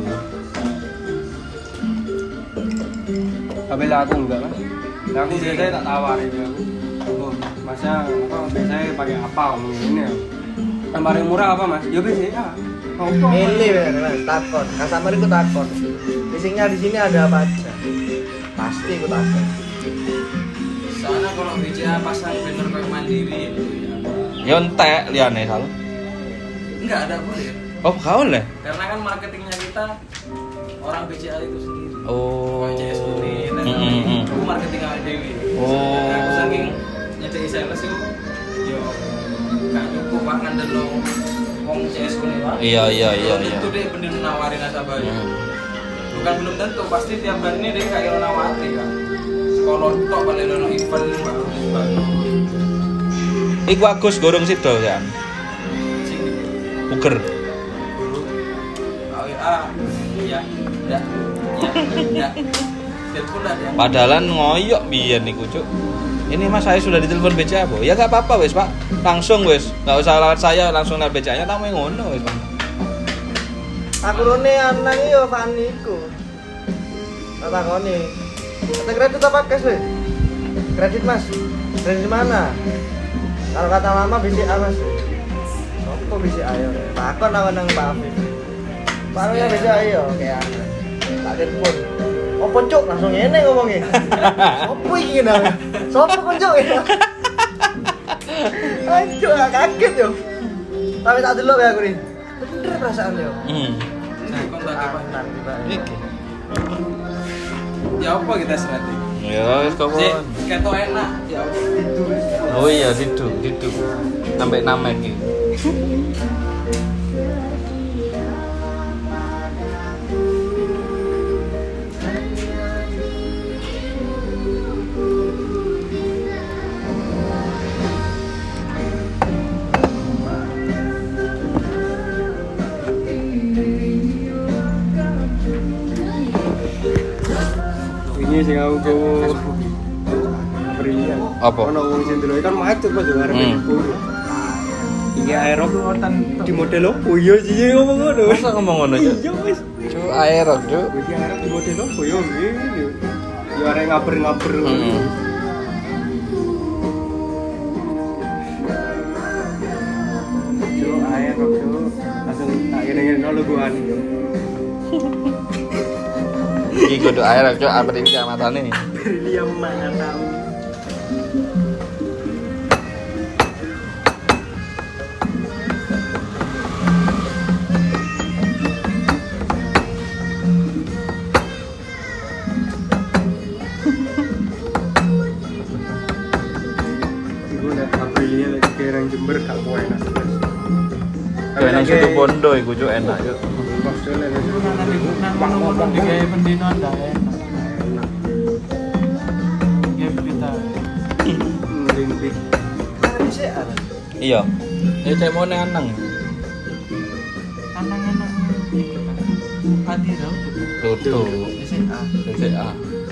Tapi lah aku enggak kan. Lah aku biasanya tak tawarin ya aku. Oh, Masnya apa biasanya pakai apa ngomong ini ya? Yang paling murah apa Mas? Ya B C A. Oh, Milih bener Mas, takon. Customer iku takon. Isinya di sini ada apa aja? Pasti iku takon. Soalnya kalau B C A pasang banner kayak Mandiri itu ya. Ya entek liyane sal. Enggak ada boleh. Oh, gak oleh. Karena kan marketingnya kita orang B C A itu sendiri. Oh. C S Unit, Mm, mm, mm. aku marketing awal dewi. Oh. Nah, aku saking nyedeki sales itu, yo gak cukup pak ngandel lo wong C S Unit pak. Iya, iya, iya, iya. Itu dia bener nawarin nasabahnya. Hmm. Bukan belum tentu, pasti tiap hari ini dia kayak nawari kan. Sekolah tok balik lo event baru baru. Iku Agus gorong sido kan. Sini. Puger. A W A, ya, ya, ya, ya. Telepon ada. Padahalan ngoyok biyen niku, Cuk. Ini Mas saya sudah ditelepon B C A, Bu. Ya enggak apa-apa wis, Pak. Langsung wis. Enggak usah lewat saya, langsung lewat B C A-nya tamu ngono wis, Pak. Aku rone anang yo Fani iku. Tak takoni. Kata kredit apa cash, weh? Kredit, Mas. Kredit mana? Kalau kata mama B C A, Mas. Sopo B C A yo? Takon awan nang Pak Afif. Parunya B C A yo kayak anu. Tak telepon. Opo Cuk langsung ngene ngomongnya. Sopo iki nang? Sopo kon Cuk? Anjir, kaget yo. Tapi tak delok ya aku nih. Bener perasaan yo. Hmm. Nah, kontak apa? Nang tiba. Iki. Ya apa kita serati? Ya wis kok. Sik, ketok enak. Ya apa? Oh iya, didu, didu. Sampai namek iki. Ini sing aku go berian. Apa? Ono wong sing delok kan macet Mas yo arep Hmm. iku. Iki aerok di model opo? Iya sih ngomong ngono. Masa ngomong ngono, Cuk? Iya wis. Cuk, aerok, Cuk. Iki aerok di model opo yo ngene. Yo arek ngaber-ngaber. Hmm. Cuk aerok cuk. Langsung tak ngene-ngene logoan. Iki kudu air cuk apa iki amatane. Dia mana tahu. Iku nek Aprilia lek kerang Jember gak kowe enak. Kayak nang situ Bondo iku cuk enak yuk. Nang ngomong digawe pendino ndak enak. Ya kita. Limpi. Iya. Ya cek mau nang anang. Anang-anang iku kan. Adi rau tuh. Tutu. S A. S A.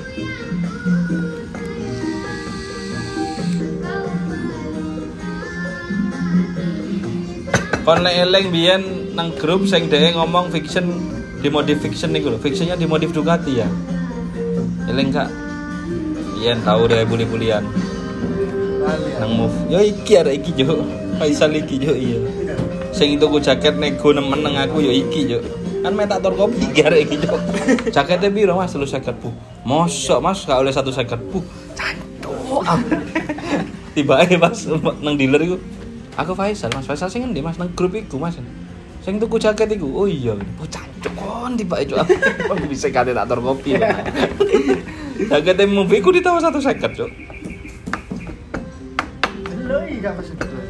Kon lek eling biyen nang grup sing dhewe ngomong fiction dimodif fiction niku lho. Fictionnya dimodif Ducati ya. Eling gak? Yen tau dhewe buli-bulian. Nang move. Yo iki arek iki yo. Faisal iki yo iya. Sing tuku jaket nego nemen nang aku yo iki yo. Kan metator kopi arek iki yo. Jakete piro Mas? tiga puluh Bu. Mosok Mas gak oleh satu lima puluh Bu. Cancuk. Tiba-tiba Mas nang dealer iku. Aku Faisal, Mas Faisal sing ngendi Mas nang grup iku Mas. Sing tuku jaket iku. Oh iya, oh cancuk kon tiba-tiba aku bisa kate tak tor kopi. Jakete movie ku ditawar satu lima puluh Cuk. Lho iya gak masuk itu.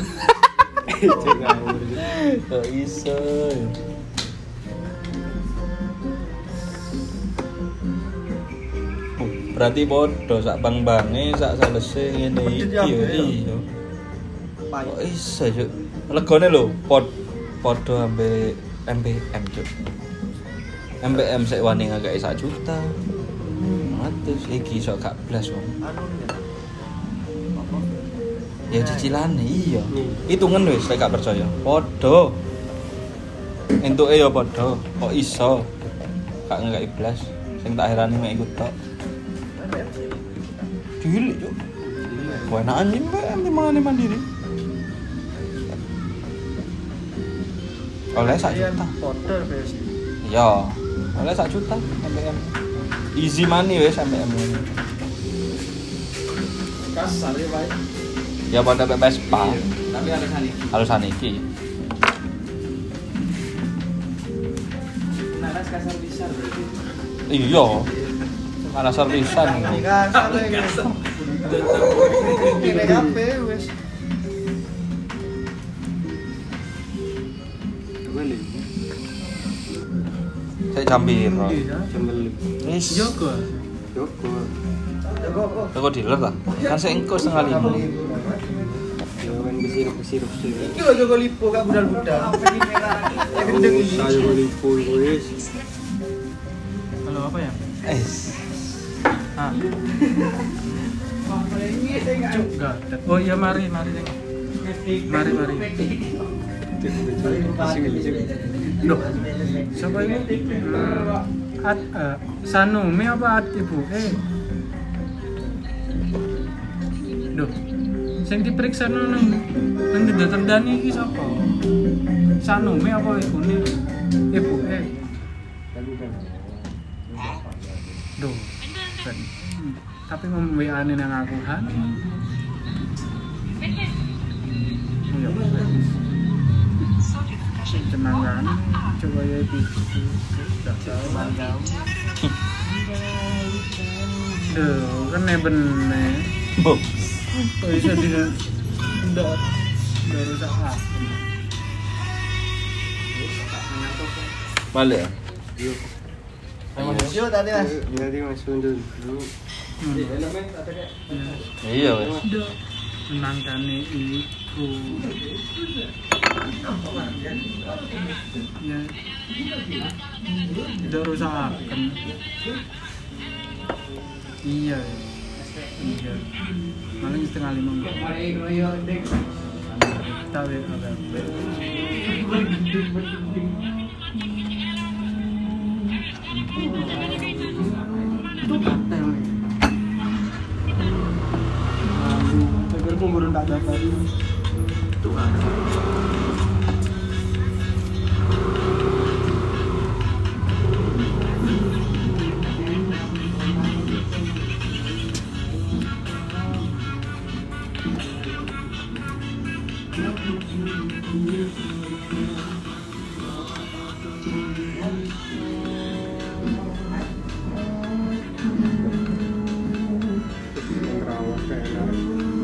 Kok iso. Berarti podo sak bang-bange sak salese ngene iki yo. Iya. Kok iso Cuk. Legone lho pod podo ambe M B M Cuk. M B M sik wani ngakei satu juta. Atus iki iso gak blas wong. Ya cicilane iya. Hitungan wis lek gak percaya. Podo. Entuke ya podo. Kok iso? Gak ngakei blas. Sing tak herani mek iku tok. Cilik Cuk. Kowe enak anjing mbak mangane mandiri. Oleh sak juta. Podo wis. Iya. Oleh sak juta M B M. Easy money wis M B M. Kasar ya, Pak. Ya pada Vespa. Tapi alasan iki. Alasan iki. Naras kasar besar berarti. Iya. Mana servisan. Ini kasar iki. Ini kabeh wis. Kembali. Saya jam piro? Kembali. Wis. Joko. Joko. Joko kok. Toko dealer ta? Kan saya engko setengah lima. Ya kan kesiruk-kesiruk sih. Iki lho Joko Lipo gak budal-budal. Ya gendeng iki. Saya Lipo wis. Halo apa ya? Es. Ah. Cuk, gak ada. Oh iya mari, mari Neng. Mari, mari. Loh, siapa ini? At, uh, Sanumi apa At ibu? Eh. Duh, sing diperiksa nang nang ditendani iki sapa? Sanumi apa ibu ini? Ibu eh. Duh. Ben. Tapi ngomong W A-ne nang aku han. Iya. Cenangan coba ya itu. Enggak tahu. Duh, kan ne bener. Bom. Kok bisa di ndak baru saat. Balik ya? Yuk. Yo tadi Mas. Jadi masuk dulu. Iya wes. Ndak menangkane iku. Ya. Ndak rusakan. Iya. Iya. Malah setengah lima. Tapi agak. Agar kumpul tak dapat. Tuh kan. Rawas kayak enak.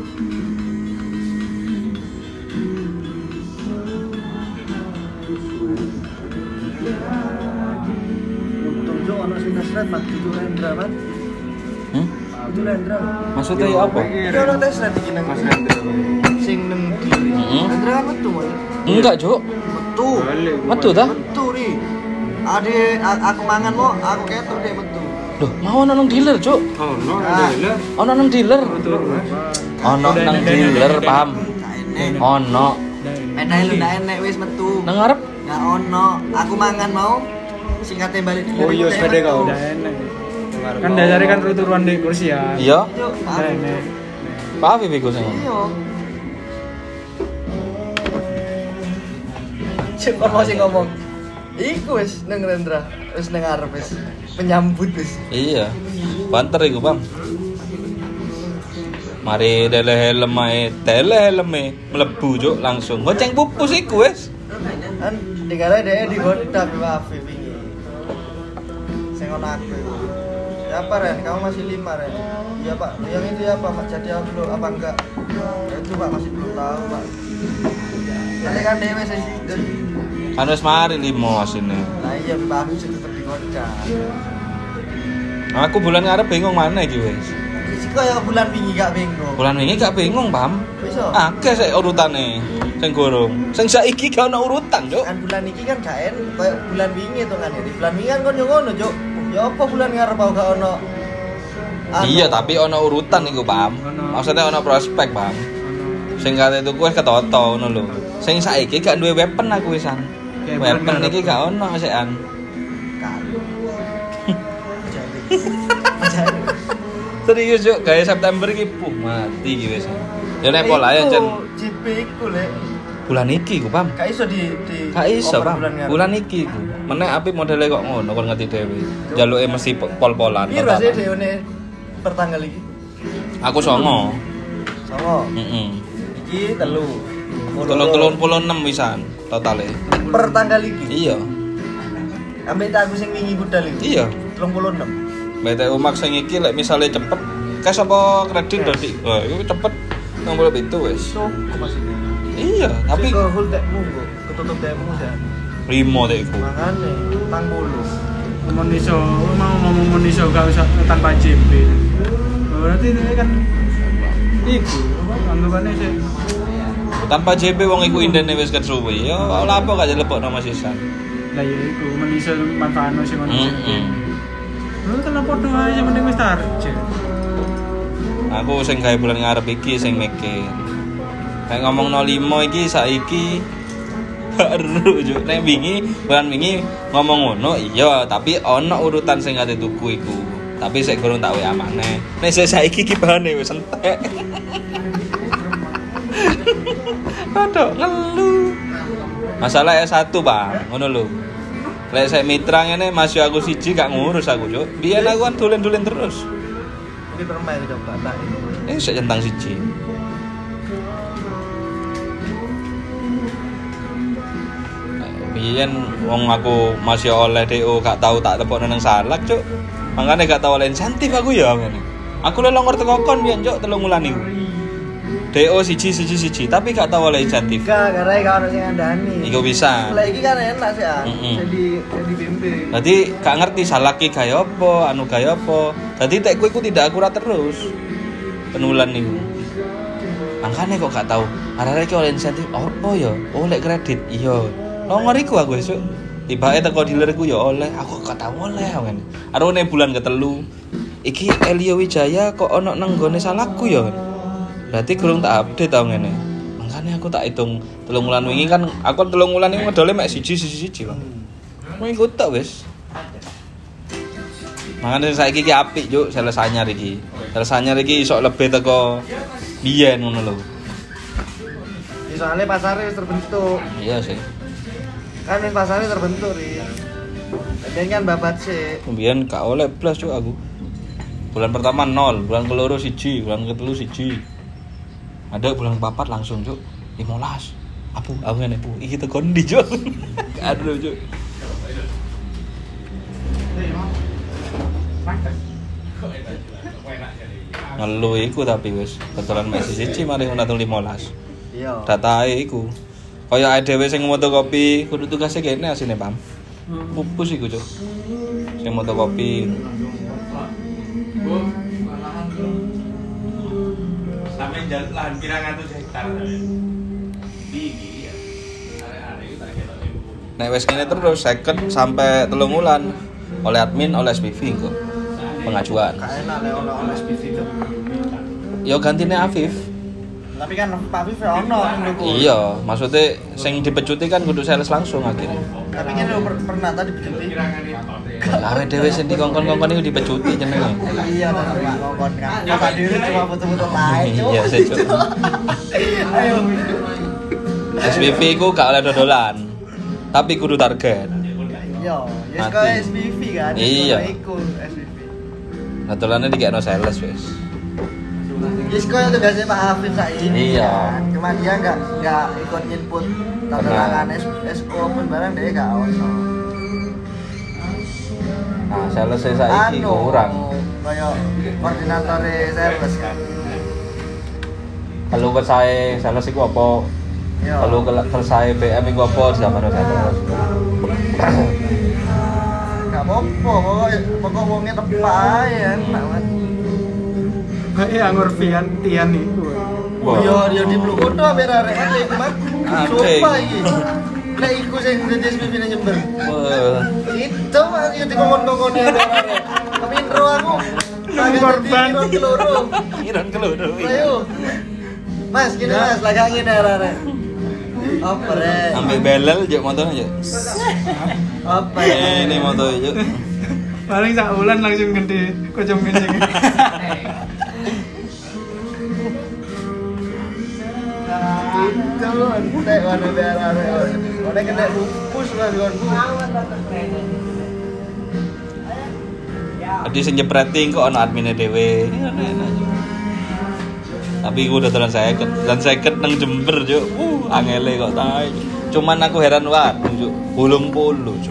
Untung jo ono sing nesret mat itu Rendra man. Hmm? Itu Rendra. Maksudnya ya apa? Iki ono tesret iki nang Mas Rendra. sing nang kiri. Heeh. Rendra kan metu man. Enggak, Cuk. Metu. Balik, gua Metu balik. ta? Metu ri. Ade a- aku mangan mo, aku ketok deh metu. Loh, mau ono nang dealer, Cuk. Oh, no, Ah. ada lah. Ono nang dealer. Betul, Mas. Ono nang dealer, paham? Gak enek. Ono Enak lu ndak enek wis metu. nang ngarep. Gak ono. Aku mangan mau singkatnya balik dulu. Oh, iya, sepeda kau. Udah enak. Kan dasarnya kan turuan di kursi ya. Iya, Yuk, Udah maaf. enak. paham iku sing. Iya. Cek kon mau sing ngomong. Iku wis nang Rendra, wis nang arep wis penyambut wis. Iya. Banter iku, Bang. Mari dele helm ae, dele helme mlebu Cuk langsung. Goceng pupus iku wis. Kan digara deh di botak Wafi wingi. Sing ono aku. Siapa Ren? Kamu masih lima Ren? Iya Pak. Yang itu ya Pak, jadi apa belum apa enggak? Ya, itu Pak masih belum tahu Pak. Nanti kan dewe saya sih. Kan wis mari limo asine. Nah iya Pak aku sih tetep dikocak. Aku bulan ngarep bingung mana iki wis. Isi kaya bulan wingi gak bingung. Bulan wingi gak bingung, Pam. Bisa. Akeh sik urutane. Sing gorong. Sing saiki gak ono urutan, Cuk. Kan bulan iki kan gak en kaya bulan wingi to kan. Di bulan wingi kan kon yo ngono, Cuk. Ya apa bulan ngarep aku gak ono. Anu. Iya, tapi ono urutan iku, Pam. Maksudnya ono prospek, Pam. Sing kate tuku wis ketoto ngono lho. Sing saiki gak duwe weapon aku wisan. Kayak Weapon bulan iki gak ono sekan. Kalau. Jadi. Jadi. Serius Cuk, gawe September iki puh mati iki wis. Ya nek pola ya jen J P iku lek. bulan iki ku, Pam. Gak iso di di Gak iso, over Pam. ngarep. Bulan iki ku. Meneh apik modele kok ngono kon ngerti dhewe. Jaluke mesti pol-polan. Piro sih deone per tanggal iki? Aku songo. Songo. Heeh. Iki telu. Telung puluh enam wisan totale. Per tanggal iki. Iya. Ambek tak aku sing wingi budal iki. Iya. tiga puluh enam. B T U Max sing iki lek misale cepet cash apa kredit Dodi? Wah, iku cepet enam puluh tujuh wis. Sok masih. Iya, tapi ke hold dekmu kok, ketutup dekmu ya. limo dek iku. Makane tang bulu. Ngomong iso, mau ngomong iso gak usah tanpa J P. Berarti ini kan iku anggapannya sih. Tanpa J P wong iku indene wis kesuwi. Ya ora apa gak dilepokno Mas Isan. Lah ya iku men iso manfaatno sing ono J P. Heeh. Lu kan podo aja mending wis tarjet. Aku sing gawe bulan ngarep iki sing mikir. Nek ngomong nol lima iki saiki baru juk nek wingi bulan wingi ngomong ngono iya tapi ono urutan sing ate tuku iku. Tapi sik gorong tak W A maneh. Nek sik saiki iki bahane wis entek. Aduh ngelu. Masalah S satu, Bang. Ngono lho. Lek saya mitra ngene masih aku siji gak ngurus aku, Cuk. Biyen aku kan dolen-dolen terus. Ini permain coba tak. Eh sik centang siji. Biyen wong aku masih oleh D O gak tau tak tepokno nang salak, Cuk. Mangane gak tau oleh insentif aku ya ngene. Aku lek longor teko kon biyen, Cuk, telung wulan iku. D O siji siji siji tapi gak tau oleh insentif. Gak, karena gak ono sing ngandani. Iku bisa. Lah iki kan enak sih ah. Mm-mm. Jadi jadi bimbing. Dadi gak ngerti salaki gawe apa, anu gawe apa. Dadi tekku iku tidak akurat terus. Penulan niku. Makanya kok gak tau. Arek-arek iki oleh insentif apa ya? Oleh kredit. Iya. Longor iku aku esuk. Tibake teko dealerku ya oleh, aku gak tau oleh ngene. Arone bulan ketelu. Iki Elio Wijaya kok ono nang gone salahku ya. Berarti kurang tak update tau ngene. Makanya aku tak hitung telung wulan wingi kan aku telung wulan iki modale mek siji siji siji, Bang. Mau ikut tak wis. Makanya saiki iki apik, Juk, sales anyar iki. Sales anyar iki iso lebih teko biyen ngono lho. Ya, soalnya pasarnya wis terbentuk. Iya sih. Kan yang pasarnya terbentuk ri. Dan kan babat sih. Kemudian gak oleh plus Juk aku. Bulan pertama nol, bulan keloro siji, bulan ketelu siji. Ada bulan kepapat langsung Juk lima belas. Apu, aku ngene, "Bu, iki tekan ndi, Cuk?" Aduh, Cuk. Ngelu iku tapi wis kebetulan Messi siji mari unatung limolas. Iya. Datae iku. Kaya ae dhewe sing motokopi kudu tugase kene asine, Pam. Pupus iku, Cuk. Sing motokopi. Sampai jalan lahan pirang atus hektar. Iki ya. Are-are itu tak ketok ibu. Nek wis ngene terus second sampai telung wulan oleh admin oleh S P V kok. Pengajuan. Gak enak lek ono S P V itu. Yo gantine Afif. Tapi kan Pak Afif ya ono ndukku. Iya, maksudnya sing dipecuti kan kudu sales langsung akhirnya. Tapi kan lo per- pernah tadi dipecuti. Awe dhewe sing dikongkon-kongkon iku dipecuti jenenge. Iya, dan Pak ngongkon kan. Masa diri cuma foto-foto lain. Cuk. Iya, sih, Cuk. Ayo. S P V ku gak oleh dodolan. Tapi kudu target. Iya, ya Mati. sekolah S P V kan. Iya. Sekolah iku S P V. Dodolane dikekno sales wis. Ya sekolah tugasnya Pak Afif saiki. Iya. Kan. Cuma dia enggak enggak ikut input tanda Benar. tangan S O pun barang dia enggak ono. Nah, sales e saiki Anu, kurang. Kayak koordinator sales kan. Kalau kesae sales iku apa? Iya. Kalau kesae B M iku apa di zaman sales? Enggak apa-apa, pokoknya pokok wongnya tepak ae enak banget. Kayak ya ngurfian tian iku. Oh iya, dia di Blue to biar arek iku mah. Ade. Sumpah iki. Nek iku sing dadi S P V nang Jember. Wah. Itu mah yo dikongkon-kongkoni arek. Tapi intro aku Korban. keloro. Iron keloro. Ayo. Mas, gini Mas, lagi angin arek. Apa rek? Ambil belel juk motornya juk. Apa ya? Eh, ini motor juk. Paling sak bulan langsung gede kocok menceng. Itu entek warna biar arek. Ora kena pupus Mas gonku. Tadi sing nyepreting kok ana admine dhewe. Tapi gue udah telan seket, dan seket nang Jember juk. Uh, angele kok tae. Cuman aku heran wae juk. Bolong polo juk.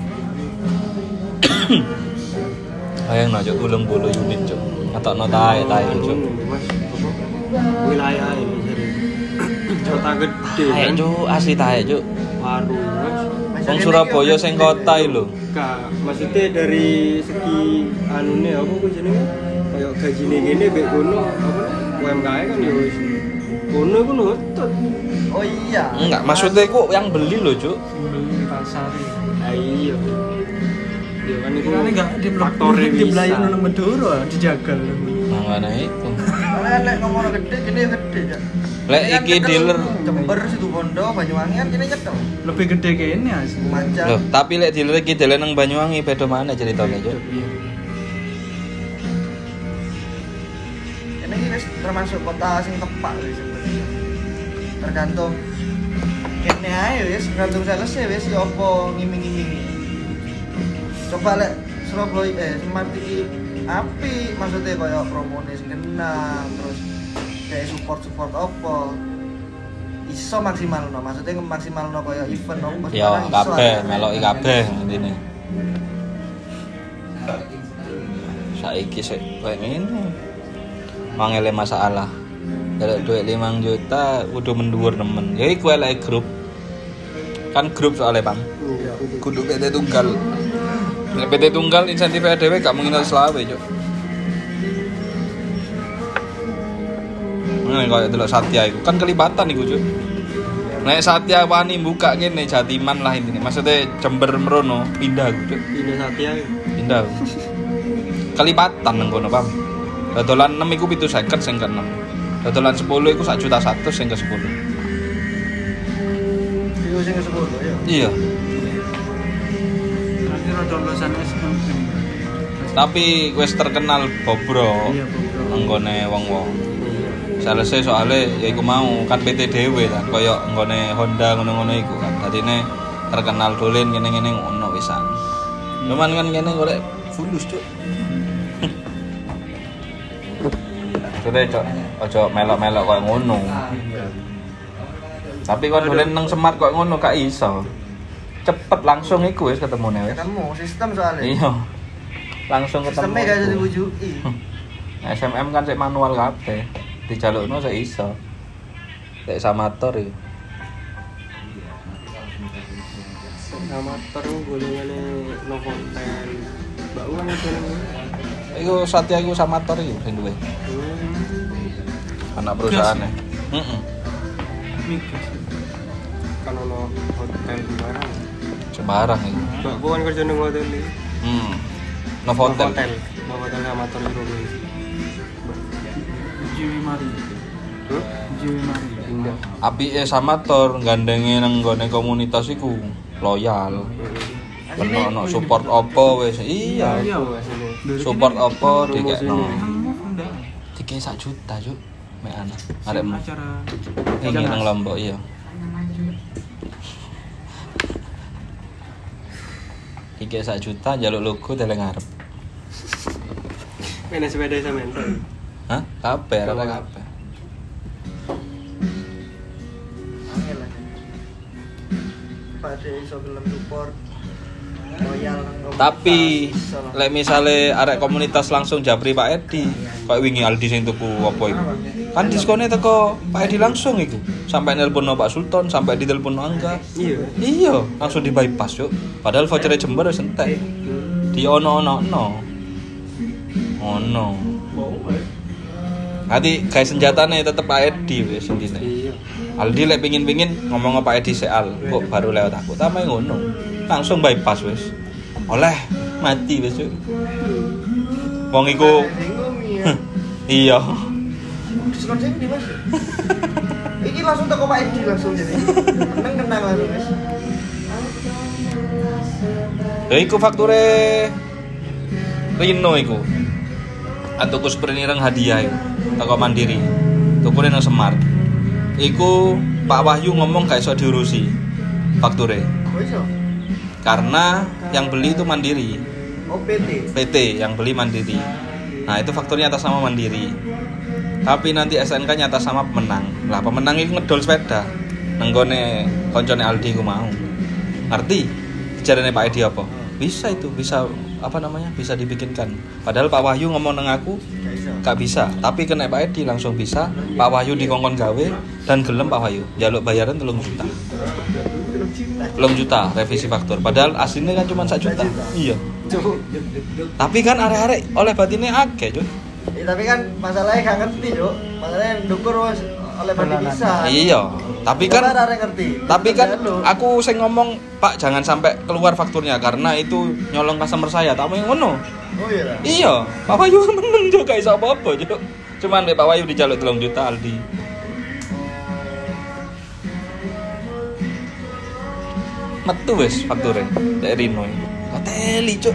Ayang no juk bolong polo unit juk. Atokno tae tae juk. Mas, apa? Wilayah ini jadi kota gede Tae kan. juk, asli tae juk. Baru Mas. Wong Surabaya sing kota iki lho. Enggak, maksudnya dari segi anune apa ku jenenge? Kayak gajine ngene mbek kono apa U M K M kan ya wis. Kono ku nutut. Oh iya. Enggak, maksudnya iku yang beli lho juk. Beli di pasar. Ah iya. Ya kan itu Ini enggak di faktore di bisa. belayan nang Madura dijagal. Nah, mana itu. Karena lek ngomong gede, gede gede ya. Lek Ini kan iki nyekel dealer. Jember situ Bondo, Banyuwangi kan kini nyekel. Lebih gede kayaknya asli. Macam. Loh, tapi lek dealer iki dealer nang Banyuwangi beda mana ceritanya juk? Ini wis termasuk kota sing tepak wis sebenarnya. Tergantung kene ae wis, tergantung sales wis ya apa ngiming-ngimingi. Coba lek Surabaya eh Smart iki api maksudnya kaya promone sing kena terus kayak support-support apa iso maksimal no, maksudnya maksimal no kaya event no Ya kabeh meloki kabeh intine. Saiki sik koyo ngene. Mangele masalah. Dari duit lima juta udah menduur nemen. Ya iku elek grup. Kan grup soalnya, Bang. Kudu P T tunggal. Nek P T tunggal insentif dhewe gak mungkin selawe, Cuk. Ngene koyo delok Satya iku kan kelibatan iku, Cuk. Nek Satya wani buka ngene Jatiman lah intine. Maksudnya Jember mrono pindah aku, Cuk. Pindah Satya. Pindah. aku. Kelibatan nang kono, Pam. Dodolan enam iku pitu seket sing ke enam. Dodolan sepuluh iku sak juta satu sing ke sepuluh. Video sing ke sepuluh ya. Iya. Nanti rada lulusan S M P. Tapi wis terkenal bobro Iya, bobro. nggone wong-wong. Salese soalnya ya iku mau kan P T dhewe kan kaya nggone Honda ngono-ngono iku kan. Dadine terkenal dolen ngene-ngene ngono wisan. Cuman kan kene golek fulus, Cuk. Sudah, Cok. Ojo melok-melok koyo ngono. Tapi kon dolen nang Semar kok ngono gak iso. Cepet langsung iku wis ketemune wis. Ketemu sistem soalnya. Iya. Langsung ketemu. Sistemnya gak bisa diwujudi. S M M kan sik manual kabeh. Dijalukno sik iso. Sik samator iki. Amator golongane Novotel. Mbak Uwan golongan. Iku Satya iku samator iki sing duwe. Anak perusahaane. Heeh. Migas. Kan ono hotel di mana? Sembarang iku. Mbak Uwan kerja nang hotel iki. Hmm. Novotel. Novotel. Novotel amator itu. Jiwi Mari. Huh? Jiwi Mari. Indah. Apike samator gandenge nang gone komunitas iku loyal. Ono ono support opo wis. Iya. Iya, Asine. Support opo dikekno. Kamu enggak. Dikek sak juta, Cuk. Mek ana. Sing Arekmu. acara Iki nang Lombok iya. Dikek sak juta njaluk logo teleng ngarep. Main sepeda sampean. Hah? Kabeh, ora kabeh. Angel lah. Pada iso gelem support loyal nang komunitas. Tapi Iso lah. lek misale arek komunitas langsung japri Pak Edi, koyo wingi Aldi sing tuku apa iku. Kan diskone teko Pak Edi langsung iku. Sampai nelpon Pak Sultan, sampai ditelepon Angga. Iya. Iya, langsung di bypass, Cuk. Padahal voucher Jember wis entek. Di ono-ono-ono. Ono. Nanti guys senjatane tetep Pak Edi wis intine. Iya. Aldi lek pingin-pingin ngomong Pak Edi seal, kok baru lewat aku. Tamai ngono. Langsung bypass wis. Oleh mati wis, Cuk. Wong iku Bingung ya. iya. Diskon sing di Mas. Iki langsung teko Pak Edi langsung jadi. Meneng kenang langsung Mas. Ya iku fakture Rino iku. Atuku sprint ireng hadiah iku. Teko Mandiri. Tukune nang Semar. Iku Pak Wahyu ngomong gak iso diurusi fakture. Oh iso. Karena yang beli itu Mandiri. O P T. P T yang beli Mandiri. Nah, itu fakturnya atas nama Mandiri. Tapi nanti S N K-nya atas nama pemenang. Lah, pemenang itu ngedol sepeda. Nenggone koncone Aldi ku mau. Ngerti? Jarane Pak Edi apa? Bisa itu, bisa apa namanya? Bisa dibikinkan. Padahal Pak Wahyu ngomong nang aku Gak iso. gak bisa, tapi kena Pak Edi langsung bisa. Pak Wahyu dikongkon gawe dan gelem Pak Wahyu. Jaluk bayaran telung juta. Telung juta revisi faktur. Padahal aslinya kan cuma satu juta. Iya. Tapi kan arek-arek oleh batinnya akeh, Cuk. Ya, tapi kan masalahnya gak ngerti, Cuk. Masalahnya ndukur wis oleh bandi bisa. Iya. Tapi kan Coba arek ngerti. Tapi kan Jaluk. aku sing ngomong, Pak jangan sampai keluar fakturnya karena itu nyolong customer saya. Tak mau ngono. Oh iya. lah. Iya, Pak Wahyu meneng juga iso apa-apa, Cuk. Cuman Pak Wahyu dijaluk telung juta Aldi. Metu wis fakture dari Rino. Hoteli, Cuk.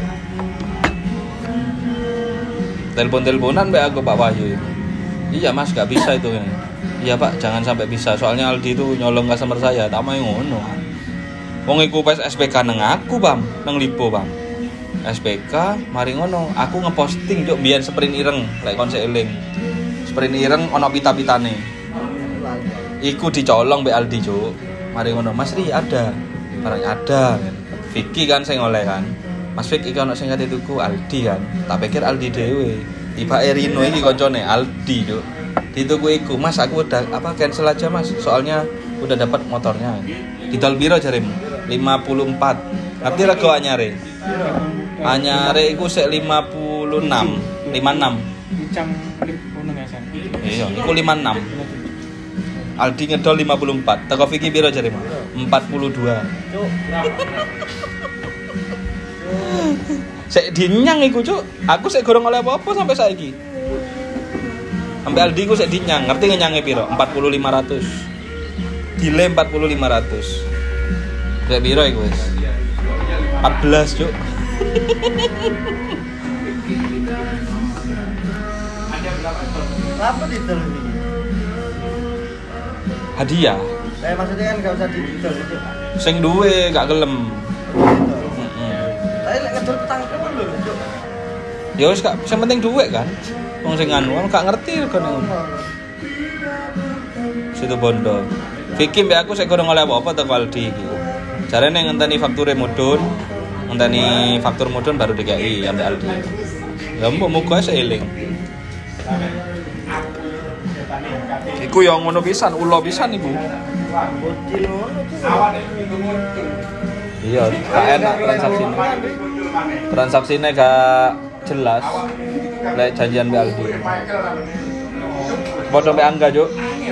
Telepon-teleponan mbak aku Pak Wahyu. Iya Mas, gak bisa itu. Iya Pak, jangan sampai bisa. Soalnya Aldi itu nyolong customer saya. Tak mau ngono. Wong iku pas S P K nang aku, Bang, nang Lipo, Bang. S P K mari ngono, aku ngeposting Cuk biyen sprint ireng, lek kon eling. Sprint ireng ono pita-pitane. Iku dicolong mbek Aldi, Cuk. Mari ngono, Mas Ri ada. Barang ada. Vicky kan sing oleh kan. Mas Fik iki ono sing kate tuku Aldi kan. Tak pikir Aldi dhewe. Tibake Rino iki koncone Aldi, Cuk. Dituku iku, Mas aku udah apa cancel aja, Mas. Soalnya udah dapat motornya. Didol piro jaremu? lima puluh empat. Ngerti rego anyare? Anyare iku sik lima puluh enam, lima puluh enam. Ucang klip ngono ya, San. Iya, iku lima puluh enam. Aldi ngedol lima puluh empat. Teko Vicky piro jaremu? empat puluh dua. Cuk. Sik dinyang iku, Cuk. Aku sik gorong oleh apa-apa sampai saiki. Sampai Aldi ku sik dinyang. Ngerti ngenyange piro? empat puluh lima ratus. Dile empat puluh lima ratus. Sik piro iku wis? empat belas, Cuk. Apa didol iki? Hadiah. Saya maksudnya kan gak usah didol, Cuk. Sing duwe gak gelem. Gitu. Heeh. Tapi lek ngedol tangkep lho, Cuk. Ya wis gak sing penting duwe kan. Wong sing anu gak ngerti regane ngono. Situ Bondo. Vicky mbek aku sik gorong oleh apa-apa teko Aldi iki. Jarene ngenteni fakture mudhun, ngenteni faktur mudhun baru D K I ambek Aldi. Ya mbok muga sik eling. Iku yo ngono pisan, ulo pisan iku. Iya, gak enak transaksine. Transaksine gak jelas. Lek janjian mbek Aldi. Padha mbek Angga, Juk.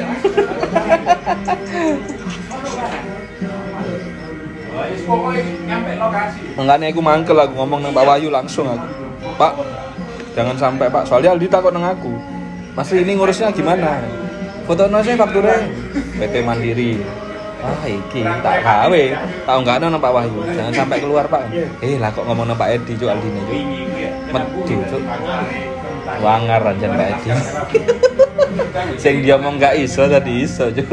Makanya aku mangkel aku ngomong nang Pak Wahyu langsung aku. Pak, jangan sampai Pak, soalnya Aldi takut nang aku. Mas ini ngurusnya gimana? Fotonya saya fakturnya P T Mandiri. Wah iki tak gawe, tak enggakno nang Pak Wahyu. Jangan sampai keluar Pak. Eh lah kok ngomong nang Pak Edi Cuk Aldine Cuk. Medhi Cuk. Wangar anjen Pak Edi. Sing dia ngomong gak iso tadi iso Cuk.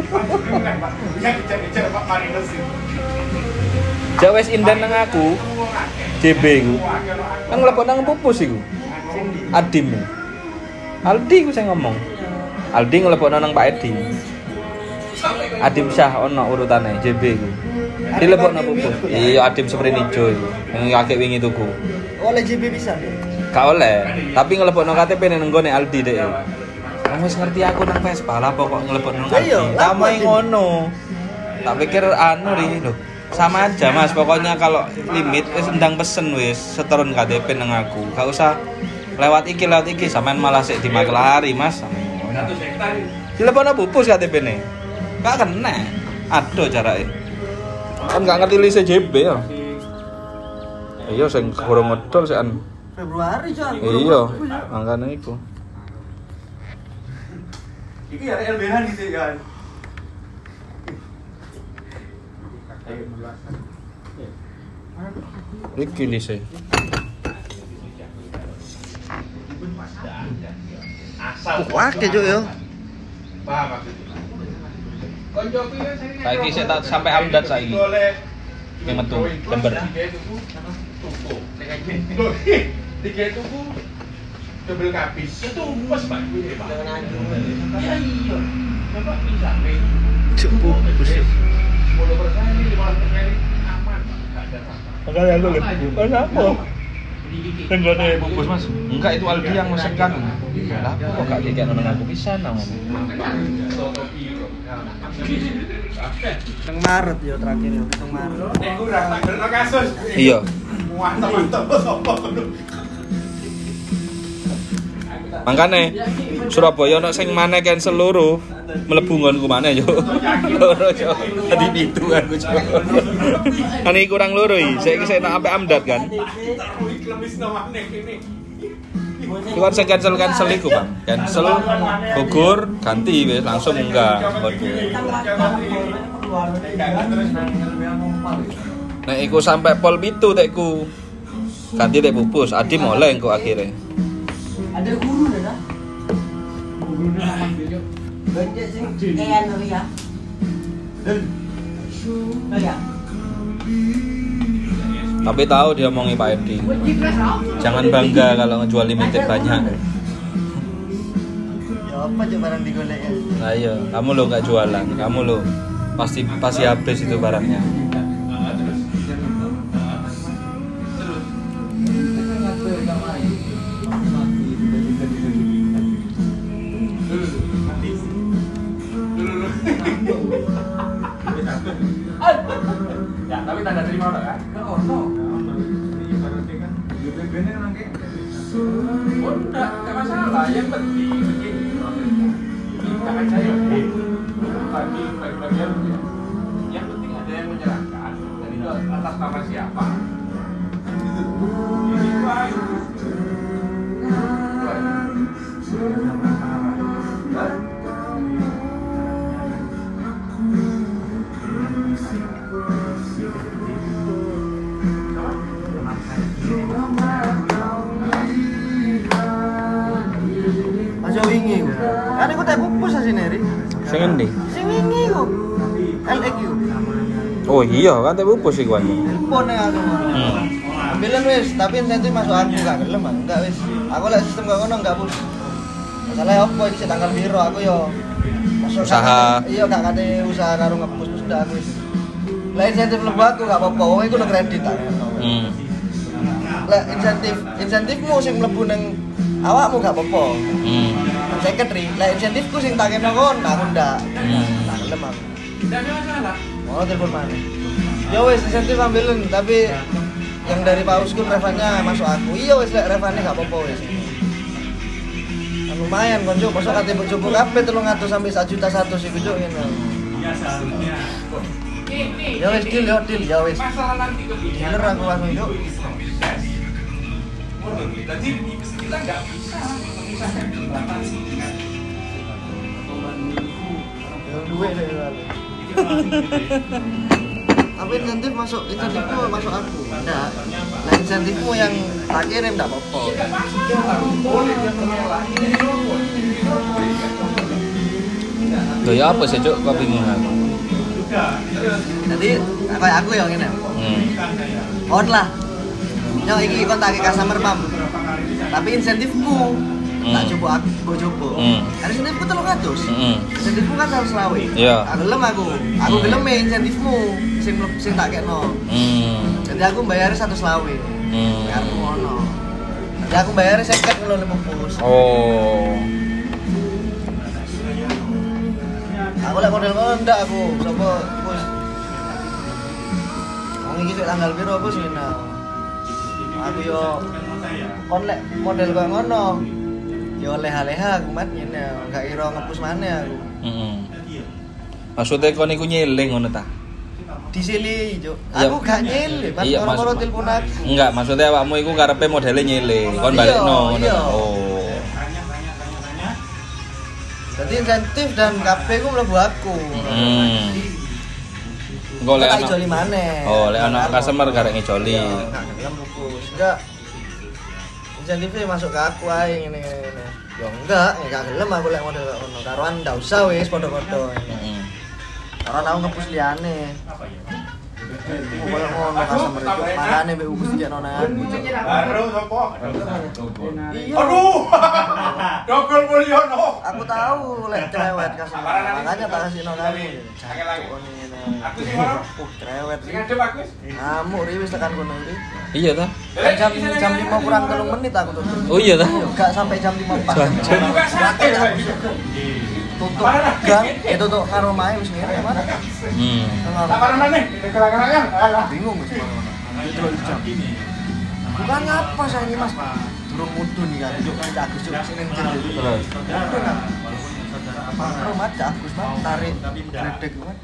Jawes indan nang aku. J B ku. Nang mlebu nang pupus iku. Adim. Aldi ku sing ngomong. Aldi nglebokno nang Pak Edi. Adim Syah ono urutane J B ku. Dilebokno pupus. Iya Adim Sprint ijo iku. Sing kakek wingi tuku. Oleh J B bisa. Gak oleh, tapi nglebokno K T P nang nggone Aldi dek. Kamu wis ngerti aku nang Vespa lah pokok nglebokno nang Aldi. Kamu ngono. Tak pikir anu ri lho. Sama aja Mas, pokoknya kalau limit wis ndang pesen wis setoron K T P nang aku. Gak usah lewat iki lewat iki sampean malah sik dimaklari Mas. Dilebokno pupus K T P-ne. Gak kena. Aduh carake. Kan gak ngerti lise J B ya. Iya sing gorong ngedol sekan Februari Jan. iya, makane iku. Iki ya L B H iki kan. Iki lise. Wah, kejo yo. Saiki sik tak sampai amdat saiki. Yang metu lembar. Tiga tuku double kapis. Itu pas Pak kuwi Pak. Iya iya. Bapak bisa nih. Cukup. sepuluh persen ini lima belas persen aman Pak. Enggak ada apa-apa. Makanya aku lebih bukan apa? Kan gak ada bungkus Mas. Enggak itu Aldi yang mesenkan. Lah kok gak dikek nang aku pisan nang ngomong. Nang Maret yo terakhir yo, nang Maret. Eh kurang tak bener kasus. Iya. Mantap-mantap sopo kudu. Makane Surabaya ono sing maneh cancel loro, mlebu nggonku maneh yo. Loro yo. Tadi pitu aku yo. Ani kurang loro iki, saiki sik tak ampe amdat kan. Klemisno maneh kene. Iku kan sing cancel-cancel iku, Bang. Cancel gugur ganti wis langsung enggak. Nek iku sampe pol pitu tekku. Ganti tek pupus, Adi mulai engko akhirnya. Ada guru dah. Guru nama dia. Banyak sing kayak anu ya. Dan. Ya. Tapi tahu dia omongi Pak Edi. Jangan bangga kalau ngejual limited banyak. Ya apa aja barang digolek ya. Nah iya, kamu lo nggak jualan, kamu lo pasti pasti habis itu barangnya. Ya, tapi tanda terima udah kan? Enggak ono. Ibaratnya kan B B B-nya nang kene. Oh, enggak, enggak masalah. Yang penting begini. Jangan saya bagi bagi-bagian ya. Yang penting ada yang menyerahkan. Dan itu atas nama siapa? Ini Pak. Aja wingi ku. Kan iku tak pupus asine ri. Sing endi? Sing wingi ku. L X U. Oh iya, kan teh pupus iku kan. Telepon nang aku. Hmm. Ambilan wis, tapi insentif masuk aku gak gelem, Bang. Enggak wis. Aku lek sistem gak ngono enggak pus. Masalah opo iki tanggal piro aku yo Masuk Usaha. kate- Iya gak kate usaha karo ngepus wis udah aku wis. Lah insentif mlebu aku gak apa-apa, wong iku udah kredit tak. Hmm. Lah insentif insentifmu sing mlebu nang awakmu gak apa-apa. Hmm. Secretary, lah insentifku sing tak kena kon, aku ndak. Hmm. Tak gelem aku. Tidak ada masalah. Oh, telepon mana? Ya wes insentif ambilin, tapi yang dari Pak Uskun revannya masuk aku. Iya wes lek revannya gak apa-apa wes. Kan lumayan kon juk, masa kate bojoku kabeh telung atus sampai satu juta satu sih juk ngene. Ya seharusnya. Ya wes deal, ya deal, ya wes. Masalah nanti kebijakan. Bener aku langsung juk. Jadi kita nggak bisa memisahkan batas dengan Ya duwe deh lalu. Tapi insentif masuk, insentifku masuk aku. Enggak. Lah insentifmu yang tak kirim enggak apa-apa. boleh dia menolak ini rokok, ini rokok ini kan Loh ya apa sih cuk kok bingung aku. Jadi kayak aku ya ngene. Hmm. On lah. Yo iki kontak customer mam. Tapi insentifku tak coba aku go coba. Hmm. Karena insentifku telung atus. Heeh. Insentifku kan seratus selawe. Iya. Aku gelem aku. Aku Hmm. gelem e insentifmu sing sing tak kekno. Hmm. Jadi aku bayar seratus selawe. Hmm. Karena ngono. Jadi aku bayar seket ngono ning pupus. Oh. Aku lek model ngono ndak aku. Sopo pus. Wong iki sik tanggal piro pus ngene. Aku yo kon lek model koyo ngono. Yo leha-leha aku mat ngene. Enggak kira ngepus maneh aku. Heeh. Maksudnya kon iku nyeling ngono ta? Disili, Juk. Iya. Aku gak nyele, Mas. Iya, Orang-orang maksud- telepon aku. Enggak, maksudnya awakmu iku karepe modele nyele. Kon Iya, balikno ngono. iya. ta? Oh. Jadi insentif dan K P ku mlebu aku. Hmm. Engko lek Tak ana ijoli maneh. Oh, lek ana customer karek ngijoli. Iya, enggak gelem pupus. Enggak. Insentifnya masuk ke aku ae ngene ngene. Ya enggak, ya gak gelem aku lek model kaya ngono. Karoan ndak usah wis padha-padha. Heeh. Karoan aku ngepus liyane. Oh, koyo ngono customer itu. Makane mbek upus dikekno nang aku. Juk. baru sopo? Iya. Aduh. Dokol Mulyono. Aku tahu lek cerewet customer. Makanya tak kasih nang kamu. Angel lagi. Aku sing Aku ngono. Uh, cerewet. Sing ngadep aku wis. Ngamuk riwis tekan kono iki. Iya ta? Kan jam jam lima kurang telung menit aku tutup. Oh iya ta? Gak sampai jam lima pas. Jancuk. Buka sate Pak. Tutup gang, eh tutup karo mae wis ngene mana. Hmm. Tak parah nih. Kelangan-kelangan. Alah. Bingung wis mana-mana. Itu lho jam. Bukannya apa saya ini Mas? Durung mudun nih kan. Juk kan Agus juk sing ning jero. Terus. Mudun kan. Rumah Cak Agus Mas tarik gledek kan.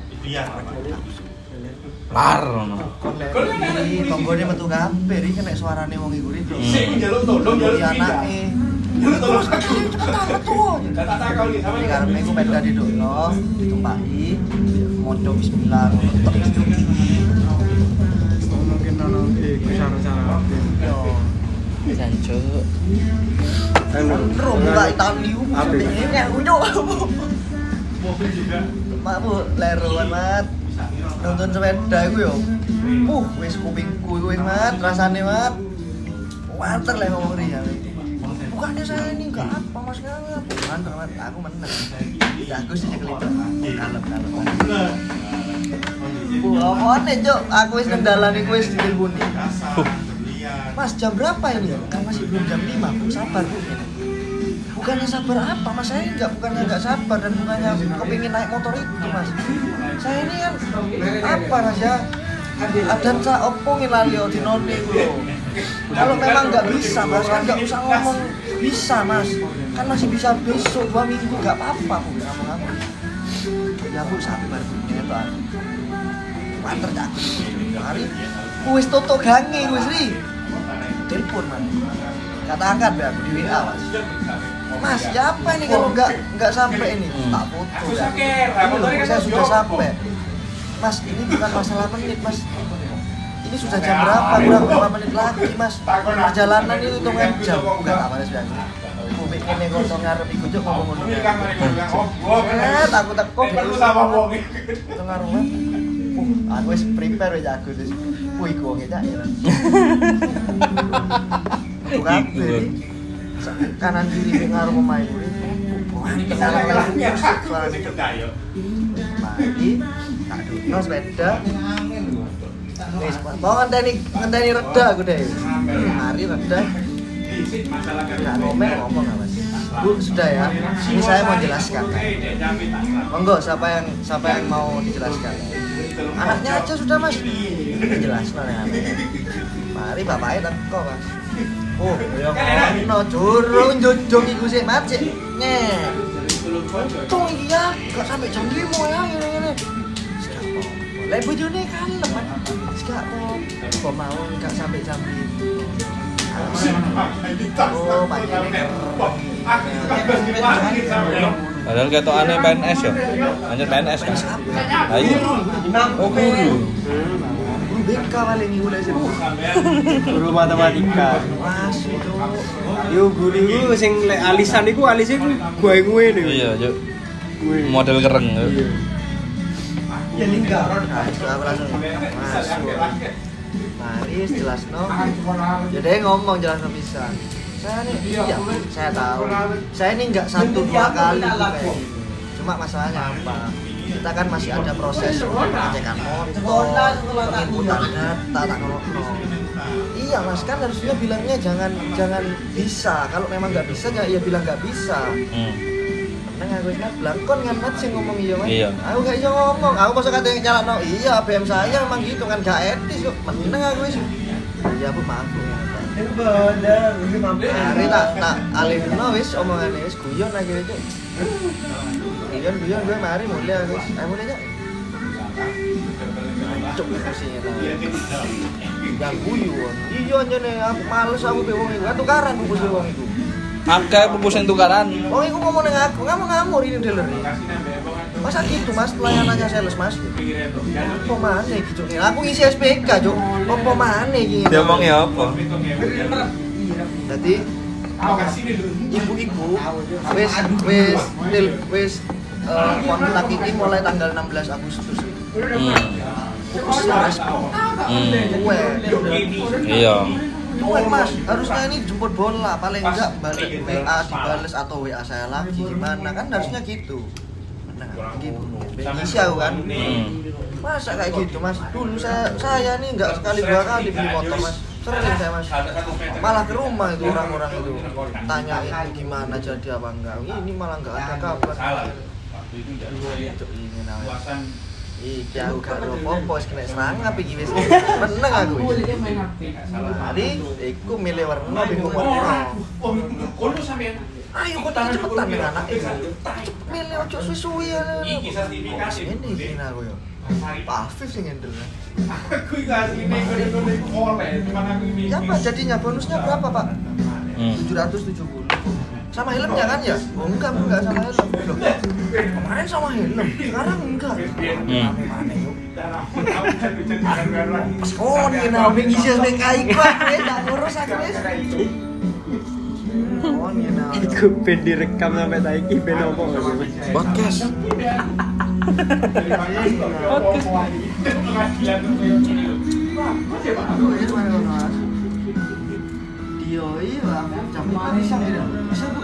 Lar ngono. Iki tonggone metu kabeh iki kena suarane wong iku iki. Sing njaluk tolong njaluk Iki pindah. anake. Njaluk tolong. Cepetan metu. Tak tak kau nih sama Ini karena aku peda di dono, ditumpaki, moco bismillah, tek juk. Mungkin ono iku cara-cara. Yo, Jancuk. Anu. ro buka tahun liu, Apa? ini aku nyok. Makmu leroan mat. Nonton sepeda iku yo. Uh, wis kupingku iku wis mat, rasane mat. Wanter lek ngomong riya. Bukannya saya ini enggak apa Mas ngapa. Wanter mat, aku menang. Ya aku sih kelihatan. Kalem-kalem. Wah, apaan Cok? Aku wis nang dalan iku wis diteleponi. Mas, jam berapa ini? Kan masih belum jam lima, Bu. Sabar, Bu. Bukannya sabar apa, Mas? Saya enggak, bukannya enggak sabar dan bukannya kepingin naik motor itu, Mas. Saya ini kan apa, Mas ya? Ada cak opo ngilalio di none iku lho. Kalau memang nggak bisa, Mas, kan nggak usah ngomong bisa, Mas. Kan masih bisa besok dua minggu, nggak apa-apa, Bu. Kamu-kamu. Ya, Bu, sabar, Bu. Gitu aku. Manter cak. Hari wis toto gange wis ri. Telepon man. Kata angkat be aku di W A, Mas. Mas, ya apa ini kalau nggak nggak sampai ini? Tak foto. Aku ya. saker, Ini loh, motornya saya kan sudah jopo. sampai. Mas, ini bukan masalah menit, Mas. Ini sudah jam berapa? Kurang berapa menit lagi, Mas? Perjalanan itu hitungan jam. Bukan apa sih aku. Kubik ini kono ngarep iku juk ngomong ngono. Ini kan mari bilang, oh, gua Eh, takut takut perlu sama wong. itu ngaruh uh, aku wis prepare wis aku wis ku iku wong eta ya tuh kabeh kanan kiri ngaruh pemain kuwi Mari, tak duduk sepeda. Wis, mau ngenteni ngenteni reda aku deh. Mari reda. Nggak ngomel ngomong nggak mas? Bu sudah ya. Ini saya mau jelaskan. Monggo siapa yang siapa yang mau dijelaskan? Anaknya aja sudah mas. Jelaskan ya. Mari bapaknya teko mas. Oh, ya ngono durung njunjung iku sik macet. Nyeh. Untung iki ya, gak sampai jam lima ya ngene-ngene. Lek bojone kalem, Mas. Gak kok mau gak sampai jam lima. Oh, panjenengan. Padahal ketokane P N S ya. Anjir P N S kan. Ayo. Oh, guru. B K paling iku lek Guru matematika. masuk. Yo guru iku sing lek alisan iku alise ku gue ngene. Iya, yuk. Model kereng. Ya lingkaran kan. Langsung masuk. Mari jelasno. Ya dia ngomong jelasno pisan. Saya nih, iya, saya tahu. Saya ini nggak satu dua kali kayak gini. Cuma masalahnya apa? Kita kan masih ada proses pengecekan motor, penginputan data, tak ngono. Iya mas, kan harusnya bilangnya jangan jangan bisa. Kalau memang nggak bisa, ya bilang nggak bisa. Hmm. Neng aku ingat belakon kan mat sing ngomong iya mas. Iya. Aku gak bisa ngomong. Aku masa kata yang nyala no. Iya, B M saya memang gitu kan gak etis kok. Meneng aku sih. Ya bu maaf bu. Bener, ini mampir. Hari tak tak alihno wis omongane wis guyon akhirnya cuk. Guyon guyon gue mari mulai wis. Ayo mulai aja. Cuk pusing eta. Yang guyon. Iya nyene aku males aku be wong iku. Tukaran bungkus wong iku. Akeh pupus yang tukaran. Wong iku ngomong ning aku, ngamuk-ngamuk ini dealer. Masa gitu mas, pelayanannya sales mas. Apa mana gitu nih? Aku ngisi S P K cuk. Apa mana iki? Dia omongnya apa? Jadi ibu-ibu wis wis til wis uh, kontak ini mulai tanggal enam belas Agustus. Hmm. Fokus respon. Hmm. Gue. Iya. Gue mas, harusnya ini jemput bola paling enggak balik W A dibales atau W A saya lagi gimana kan harusnya gitu. Nah, gitu. Ngisi aku kan. Hmm. Masa kayak gitu mas? Dulu saya saya nih nggak sekali dua kali beli motor mas. Sering saya mas. Malah ke rumah itu orang-orang itu tanyain gimana jadi apa enggak. Ini malah nggak ada kabar. Ini namanya. Iki aku gak ada apa-apa, wis kena serang apa iki wis. Meneng aku. Mari iku milih warna bingung warna. Ayo kok tak cepetan ning anak iki. Milih ojo suwi-suwi ya. Iki sertifikasi. Ini iki aku yo. Pak Afif sing handle. Aku iki asline ngene-ngene kole, cuma aku ini. Siapa jadinya bonusnya berapa, Pak? tujuh ratus tujuh puluh. Sama helmnya kan ya? Oh enggak, enggak sama helm. Loh. Kemarin sama helm, sekarang enggak. Hmm. Oh, ini nabi ngisi S P K Pak, tak ngurus aku wis. Oh, ini nabi. Iku ben direkam sampai saiki ben opo Mas? Podcast. Dio iya, jam lima bisa tidak? Bisa bu.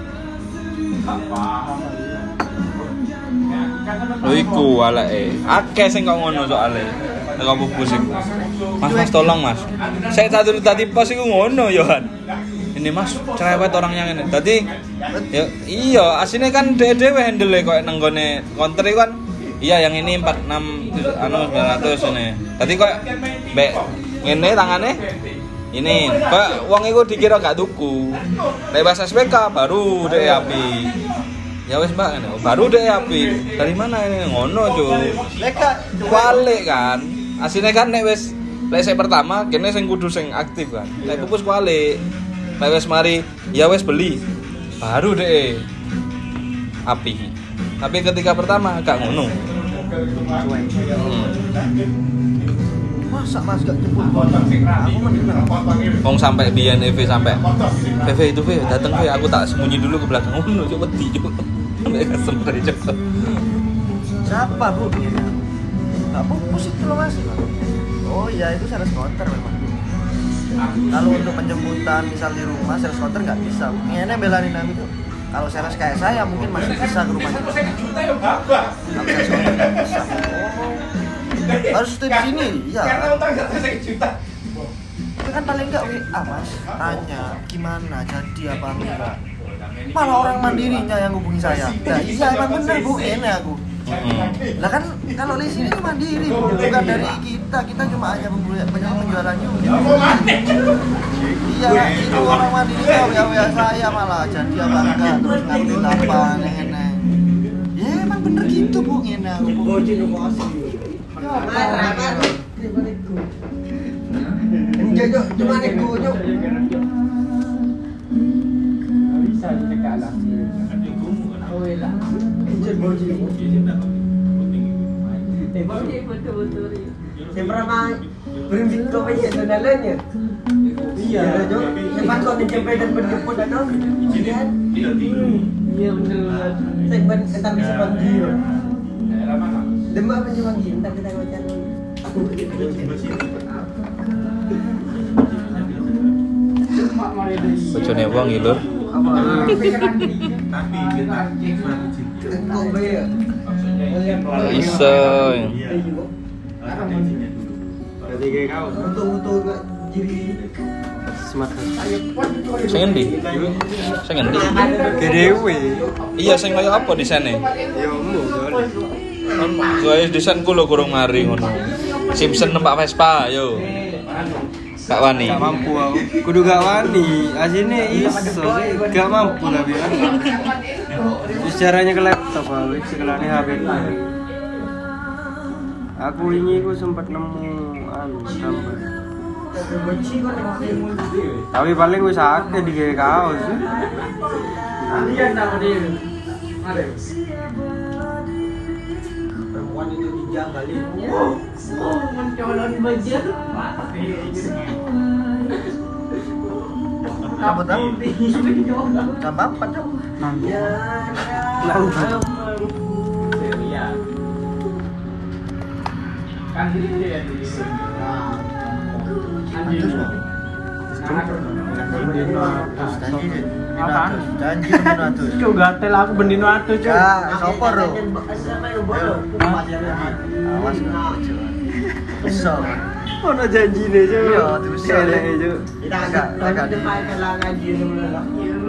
Lho iku aleke. Akeh sing kok ngono soalé. Nek pupus iku. Mas Mas tolong Mas. Saya tadi tadi pos iku ngono Yohan. Ini Mas, cerewet orangnya ngene. Dadi ya iya, asine kan dhewe handle kok nang gone counter iku kan. Iya yang ini empat puluh enam anu sembilan ratus ini. Dadi kok mbek ngene tangane ini, Pak, wong iku dikira gak tuku. Lewat S P K baru dhek api. Ya wis Mbak ngene. Baru dhek api. Dari mana ini? Ngono, Cuk. Leka Kualik kan. Asine kan nek wis lek sik pertama kene sing kudu sing aktif kan. Lek pupus kualik. Lek wis mari ya wis beli. Baru dhek api. Tapi ketika pertama gak ngono. Hmm. masa mas gak jemput motor? Aku menang. Wong sampai biyen E V sampai V V itu V dateng V aku tak sembunyi dulu ke belakang. Ngono cuk wedi cuk. Nek customer cuk. Siapa bu? Gak pupus itu loh mas. Oh iya itu sales counter memang. Kalau untuk penjemputan misal di rumah sales counter nggak bisa. Ini belain aku tuh. Kalau sales kayak saya mungkin masih bisa ke rumah kita. Kalau saya soalnya nggak bisa. Harus stay di sini, ya. Itu kan paling enggak W A mas, tanya gimana, jadi apa enggak. Malah orang mandirinya yang hubungi saya. Ya iya emang bener bu, ini aku. Lah kan kalau di sini mandiri bu, bukan dari kita, kita cuma hanya penjualan unit. Iya, itu orang mandirinya W A W A saya malah jadi apa enggak, terus ngambil apa, neng-neng. Ya emang bener gitu bu, ini aku. Jok, cuma nego, Jok. Bisa dicekak lah. Oh iya. Encet boji. Eh, boji betul-betul. Saya pernah berhenti kau banyak donalnya. Iya, Jok. Lepas kau dijemput dan berjemput dan dong. Iya. Iya benar. Segmen ketar bisa pagi. Demak macam pagi, entar kita macam. Aku Bojone wong iki, Lur. Iso. Jadi kayak kau. Untuk-untuk diri Smart. Sing endi? Sing endi? Gedewe. Iya sing kaya apa disane? Ya umum soalnya. Guys, desainku lho kurang mari ngono. Simpson numpak Vespa, yo. Gak wani. Gak mampu aku. Kudu gak wani. Asine iso sih gak mampu tapi kan. Terus caranya ke laptop aku, sekelane H P. Aku ini aku sempat nemu anu gambar. Tapi paling wis akeh di kaos. Lihat nama dia. Ada. Perempuan itu dijagalin. Oh, oh mencolon baju. Apa tahu? Jam empat Jok. Ya. Langsung. Ya. Kan diri dia di. Anjir. Apaan? Janji beratus. Cuk gatel aku bendino atuh, Cuk. Ya, sopor lo. Awas bisa. Ono janjine jo. Iya, terus eleke jo. Kita agak agak depan kelangan dia dulu.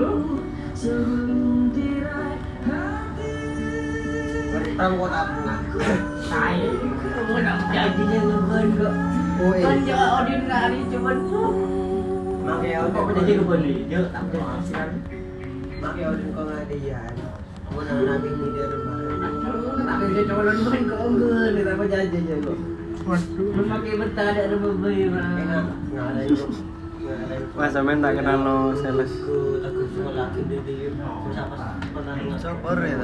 Pertama kota bunga. Saya mau nak janjinya ngeban kok. Oh, Kan dia ordinary cuman pakai auto apa jadi kebeli. Dia tak berhasil. Pakai auto kau ngadian. Mau nak nabi ni dia rumah. Tapi dia colon main kau enggak, dia tak janjinya kok. Waduh, pakai betah ada rumah bayi mah. Enak. Enggak ada itu. Mas sampean tak kenal no sales. Aku aku semua laki dia dia susah pas pernah dengar. Sopor ya.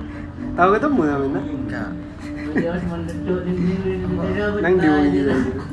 Tahu ketemu sampean? Enggak. Dia cuma duduk di sini. Nang di wong iki.